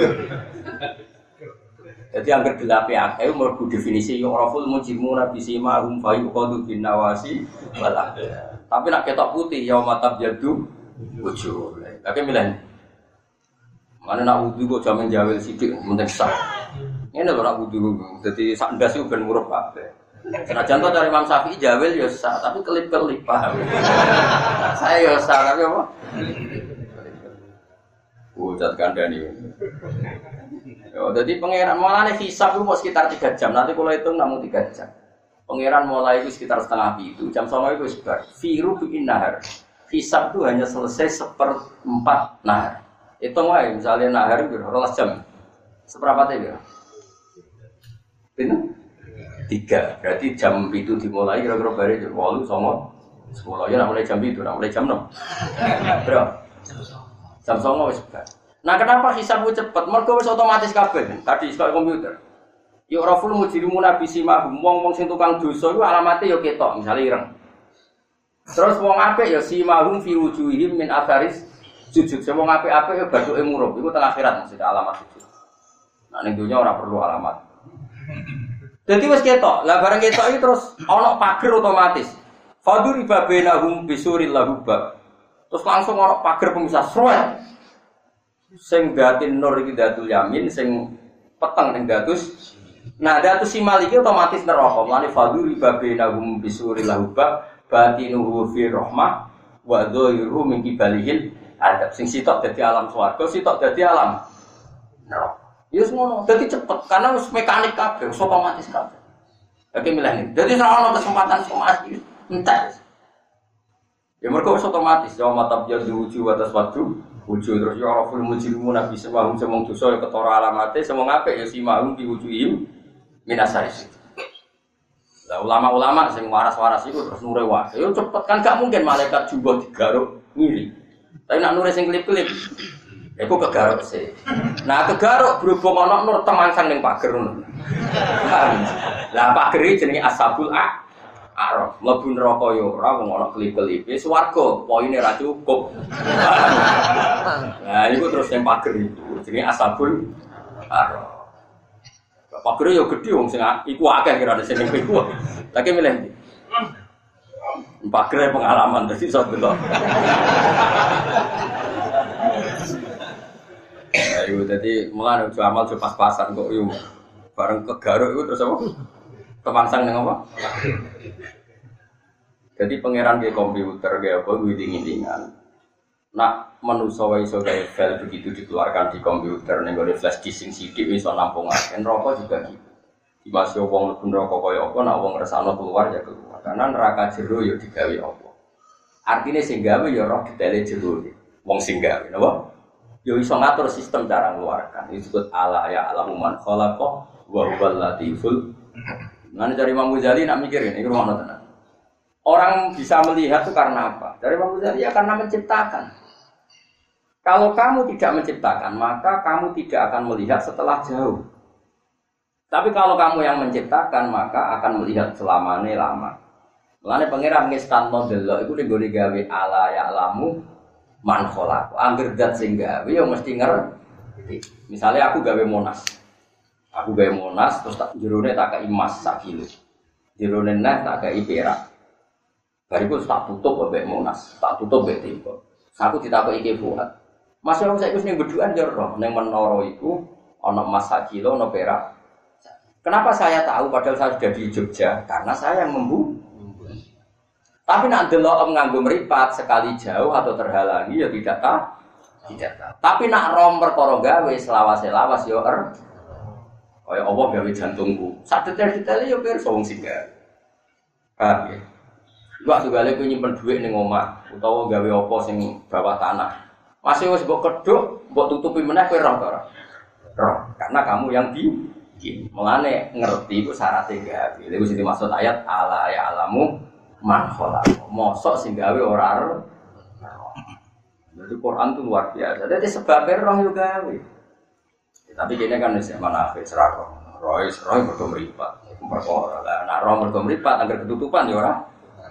Speaker 2: Jadi yang kedelape akeh mergo definisi yo raful mujrimuna bisima hum fayuqadu bin nawasi wala. Tapi nak ketok putih yaumatab yadu wujuh. Tapi milih. Mana nak wudu kok jamin jawel sithik mentek sak. Ngene lho nak wudu. Dadi sak ndas iku ben murup kabeh. Senajan to cari Imam Syafi'i jawel ya sak, tapi kelip-kelip paham. Saya ya sak tapi apa? Ucat kandhani. Yo dadi pangeran mulane hisab itu sekitar 3 jam. Nanti kalau hitung namun 3 jam. Pangeran mulai itu sekitar setengah itu. Jam 09.00 itu sebar. Firu bin nahar. Hisab itu hanya selesai 1/4 nahar. Hitung wae misalnya nahar itu 12 jam. Seberapa teh ya? Pinu? 3. Berarti jam itu dimulai kira-kira bare jam 8 9 10 ya mulai jam itu, mulai jam 6. Bro. Jam 09.00 wis sebar. Nah kenapa hisab itu cepat? Mergo wis otomatis kabeh. Tadi sekolah komputer. Ya raful mujrimuna bisimahum wong-wong sing tukang dosa iku alamate ya ketok, misale ireng. Terus wong apik ya simahum fi wujuhihim min atharis sujud. Wong apik-apik ya bathuke murup. Iku teng akhirat maksud alamat sujud. Nah ning dunya ora perlu alamat. Dadi wis ketok. Lah bareng ketok iki terus ana pager otomatis. Fadur ibabenahum bisuril lahubab. Terus langsung ana pager pemisah sruet. Sing datin nur iki datul yamin, sing peteng ning datus. Nah, datus simal iki otomatis neraka. Mane fadur ibabenahum bisuril lahubab. Batinuhu fi rahmah wa dhahiru min kibalihil adab. Sing sitok dadi alam swarga, sitok dadi alam neraka. Ya ngono, dadi cepet karena wis mekanik kabeh, otomatis kabeh. Oke milih iki. Dadi ora ono kesempatan somasi entek. Ya mergo wis otomatis, ya matab jadu wujuh atas wadu, wujuh terus ya raful mujrimun nabi semahum semong dosa ya ketara alamate, semong apik ya simahum di wujuhim minasaris. Lah ulama-ulama sing waras-waras iku terus nure wae. Yo cepet kan gak mungkin malaikat juga digaruk ngiri. Tapi nak nure sing klip-klip iku kegaruk sih. Nah kegaruk berhubung ana nur temangsang ning pager ngono. Lah pager iki jenenge ashabul a'raf. Mlebu neraka yo ora wong ana klip-klipe swarga, poine ra cukup. Nah iku terus ning pager itu jenenge ashabul a'raf. Pagere yo gedhe wong sing iku akeh kira ada sing iku. Lagi milih ndi? Pagere pengalaman dadi iso delok. Ayo dadi mulane ojo amal ojo pas-pasan kok yo. Bareng kegaruk iku terus apa? Temangsang ning apa? Jadi pangeran ge komputer ge apa witing-witingan. Nak manusa wae iso gawe file begitu dikeluarkan di komputer ning gone flash disk sing sithik iso nampungaken neraka juga gitu. Dimasuk wong mlebu neraka kaya apa nak wong ngersano keluar ya keluar. Karena neraka jero ya digawe apa. Artine sing gawe ya roh detaile jero. Wong sing gawe napa? Ya iso ngatur sistem cara ngeluarkan. Itu disebut ala ya alamu man khalaqa wa huwal latiful. Nanti dari Imam Ghazali nak mikirin, ini rumah tenang. Orang bisa melihat itu karena apa? Dari Imam Ghazali ya karena menciptakan. Kalau kamu tidak menciptakan, maka kamu tidak akan melihat setelah jauh. Tapi kalau kamu yang menciptakan, maka akan melihat selamanya lama. Mulane pangeran ngestan model iku ning gawe ala ya alamu man khalaq. Angger zat sing gawe ya mesti ngerti. Misalnya aku gawe Monas. Aku gawe Monas terus tak jerone tak kei emas sak kilo. Jerone neh tak kei perak. Bariku tak tutup mbek Monas, tak tutup mbek Tempo. Aku ditakoki iki buat. Mas yo saiki wis ning bedukan yo roh, ning menara iku ana emas sak kilo, ana perak. Kenapa saya tahu padahal saya sudah di Jogja? Karena saya yang Tapi nak delok nganggo mripat sekali jauh atau terhalangi ya tidak tahu. Tidak tahu. Tapi nak rom perkara gawe selawas-selawas yo kaya Allah gawe jantungku. Sak detail-detail yo pirsa wong sing gawe. Paham ya? Waktu gale ku nyimpen dhuwit ning omah utawa gawe apa sing bawah tanah. Masih wis mbok kedhuk, mbok tutupi meneh kowe roh ora? Roh, karena kamu yang bikin. Mulane ngerti iku syaratnya gawe. Iku sing dimaksud ayat ala ya alamu man khalaq. Mosok sing gawe ora roh. Jadi Quran itu luar biasa. Jadi sebabnya roh yo gawe. Tapi kene kan wis manafik serah roh. Roh mergo mripat. Iku perkara. Lah nek roh mergo mripat anggar ketutupan ya ora.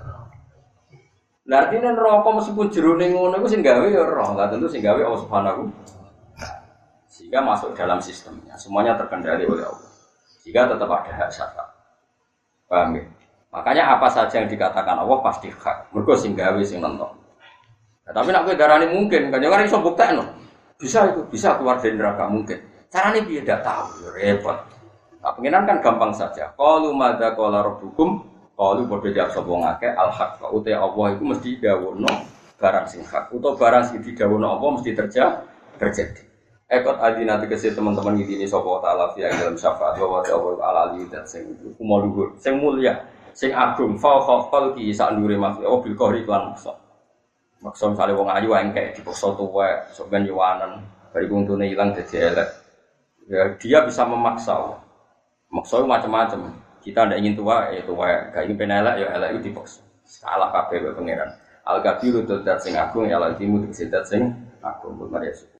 Speaker 2: Lah artine neraka meskipun jerone ngono iku sing gawe ya roh, enggak tentu sing gawe Allah Subhanahu. Sehingga masuk dalam sistemnya, semuanya terkendali oleh Allah. Sehingga tetap ada hak syafaat. Paham ya? Makanya apa saja yang dikatakan Allah pasti hak. Mergo sing gawe sing nentok. Nah, tapi nek kowe darani mungkin, kan jangan iso buktekno. Bisa itu, bisa keluar dari neraka mungkin. Carane piye ndak tahu, repot. Nah, pengiran kan gampang saja. Qalu madza qala rabbukum? Qalu padha jawab sapa ngake al-haq. Uta Allah iku mesti dawuhno barang sing hak. Utawa barang sing didhawuhno apa mesti terjadi. Ekot adina tegese teman-teman ngidini sapa taala fi dalam syafaat wa ta'ala al-ali dan sing luhur, sing mulya, sing agung fauqa khalqi sak ndure makhluk oh bil qahri lan maksa. Maksa misale wong ayu engkek dipaksa tuwek, sok ben yuwanen, bariku untune ilang dadi elek. Ya dia bisa memaksa. Maksa macam-macam. Kita tidak ingin tua, ya tua. Gak ingin penelak, ya elak itu dipaksa. Salah kabeh pengiran. Al-Kabiru dat sing agung, ya al-Timu dat sing agung. Mari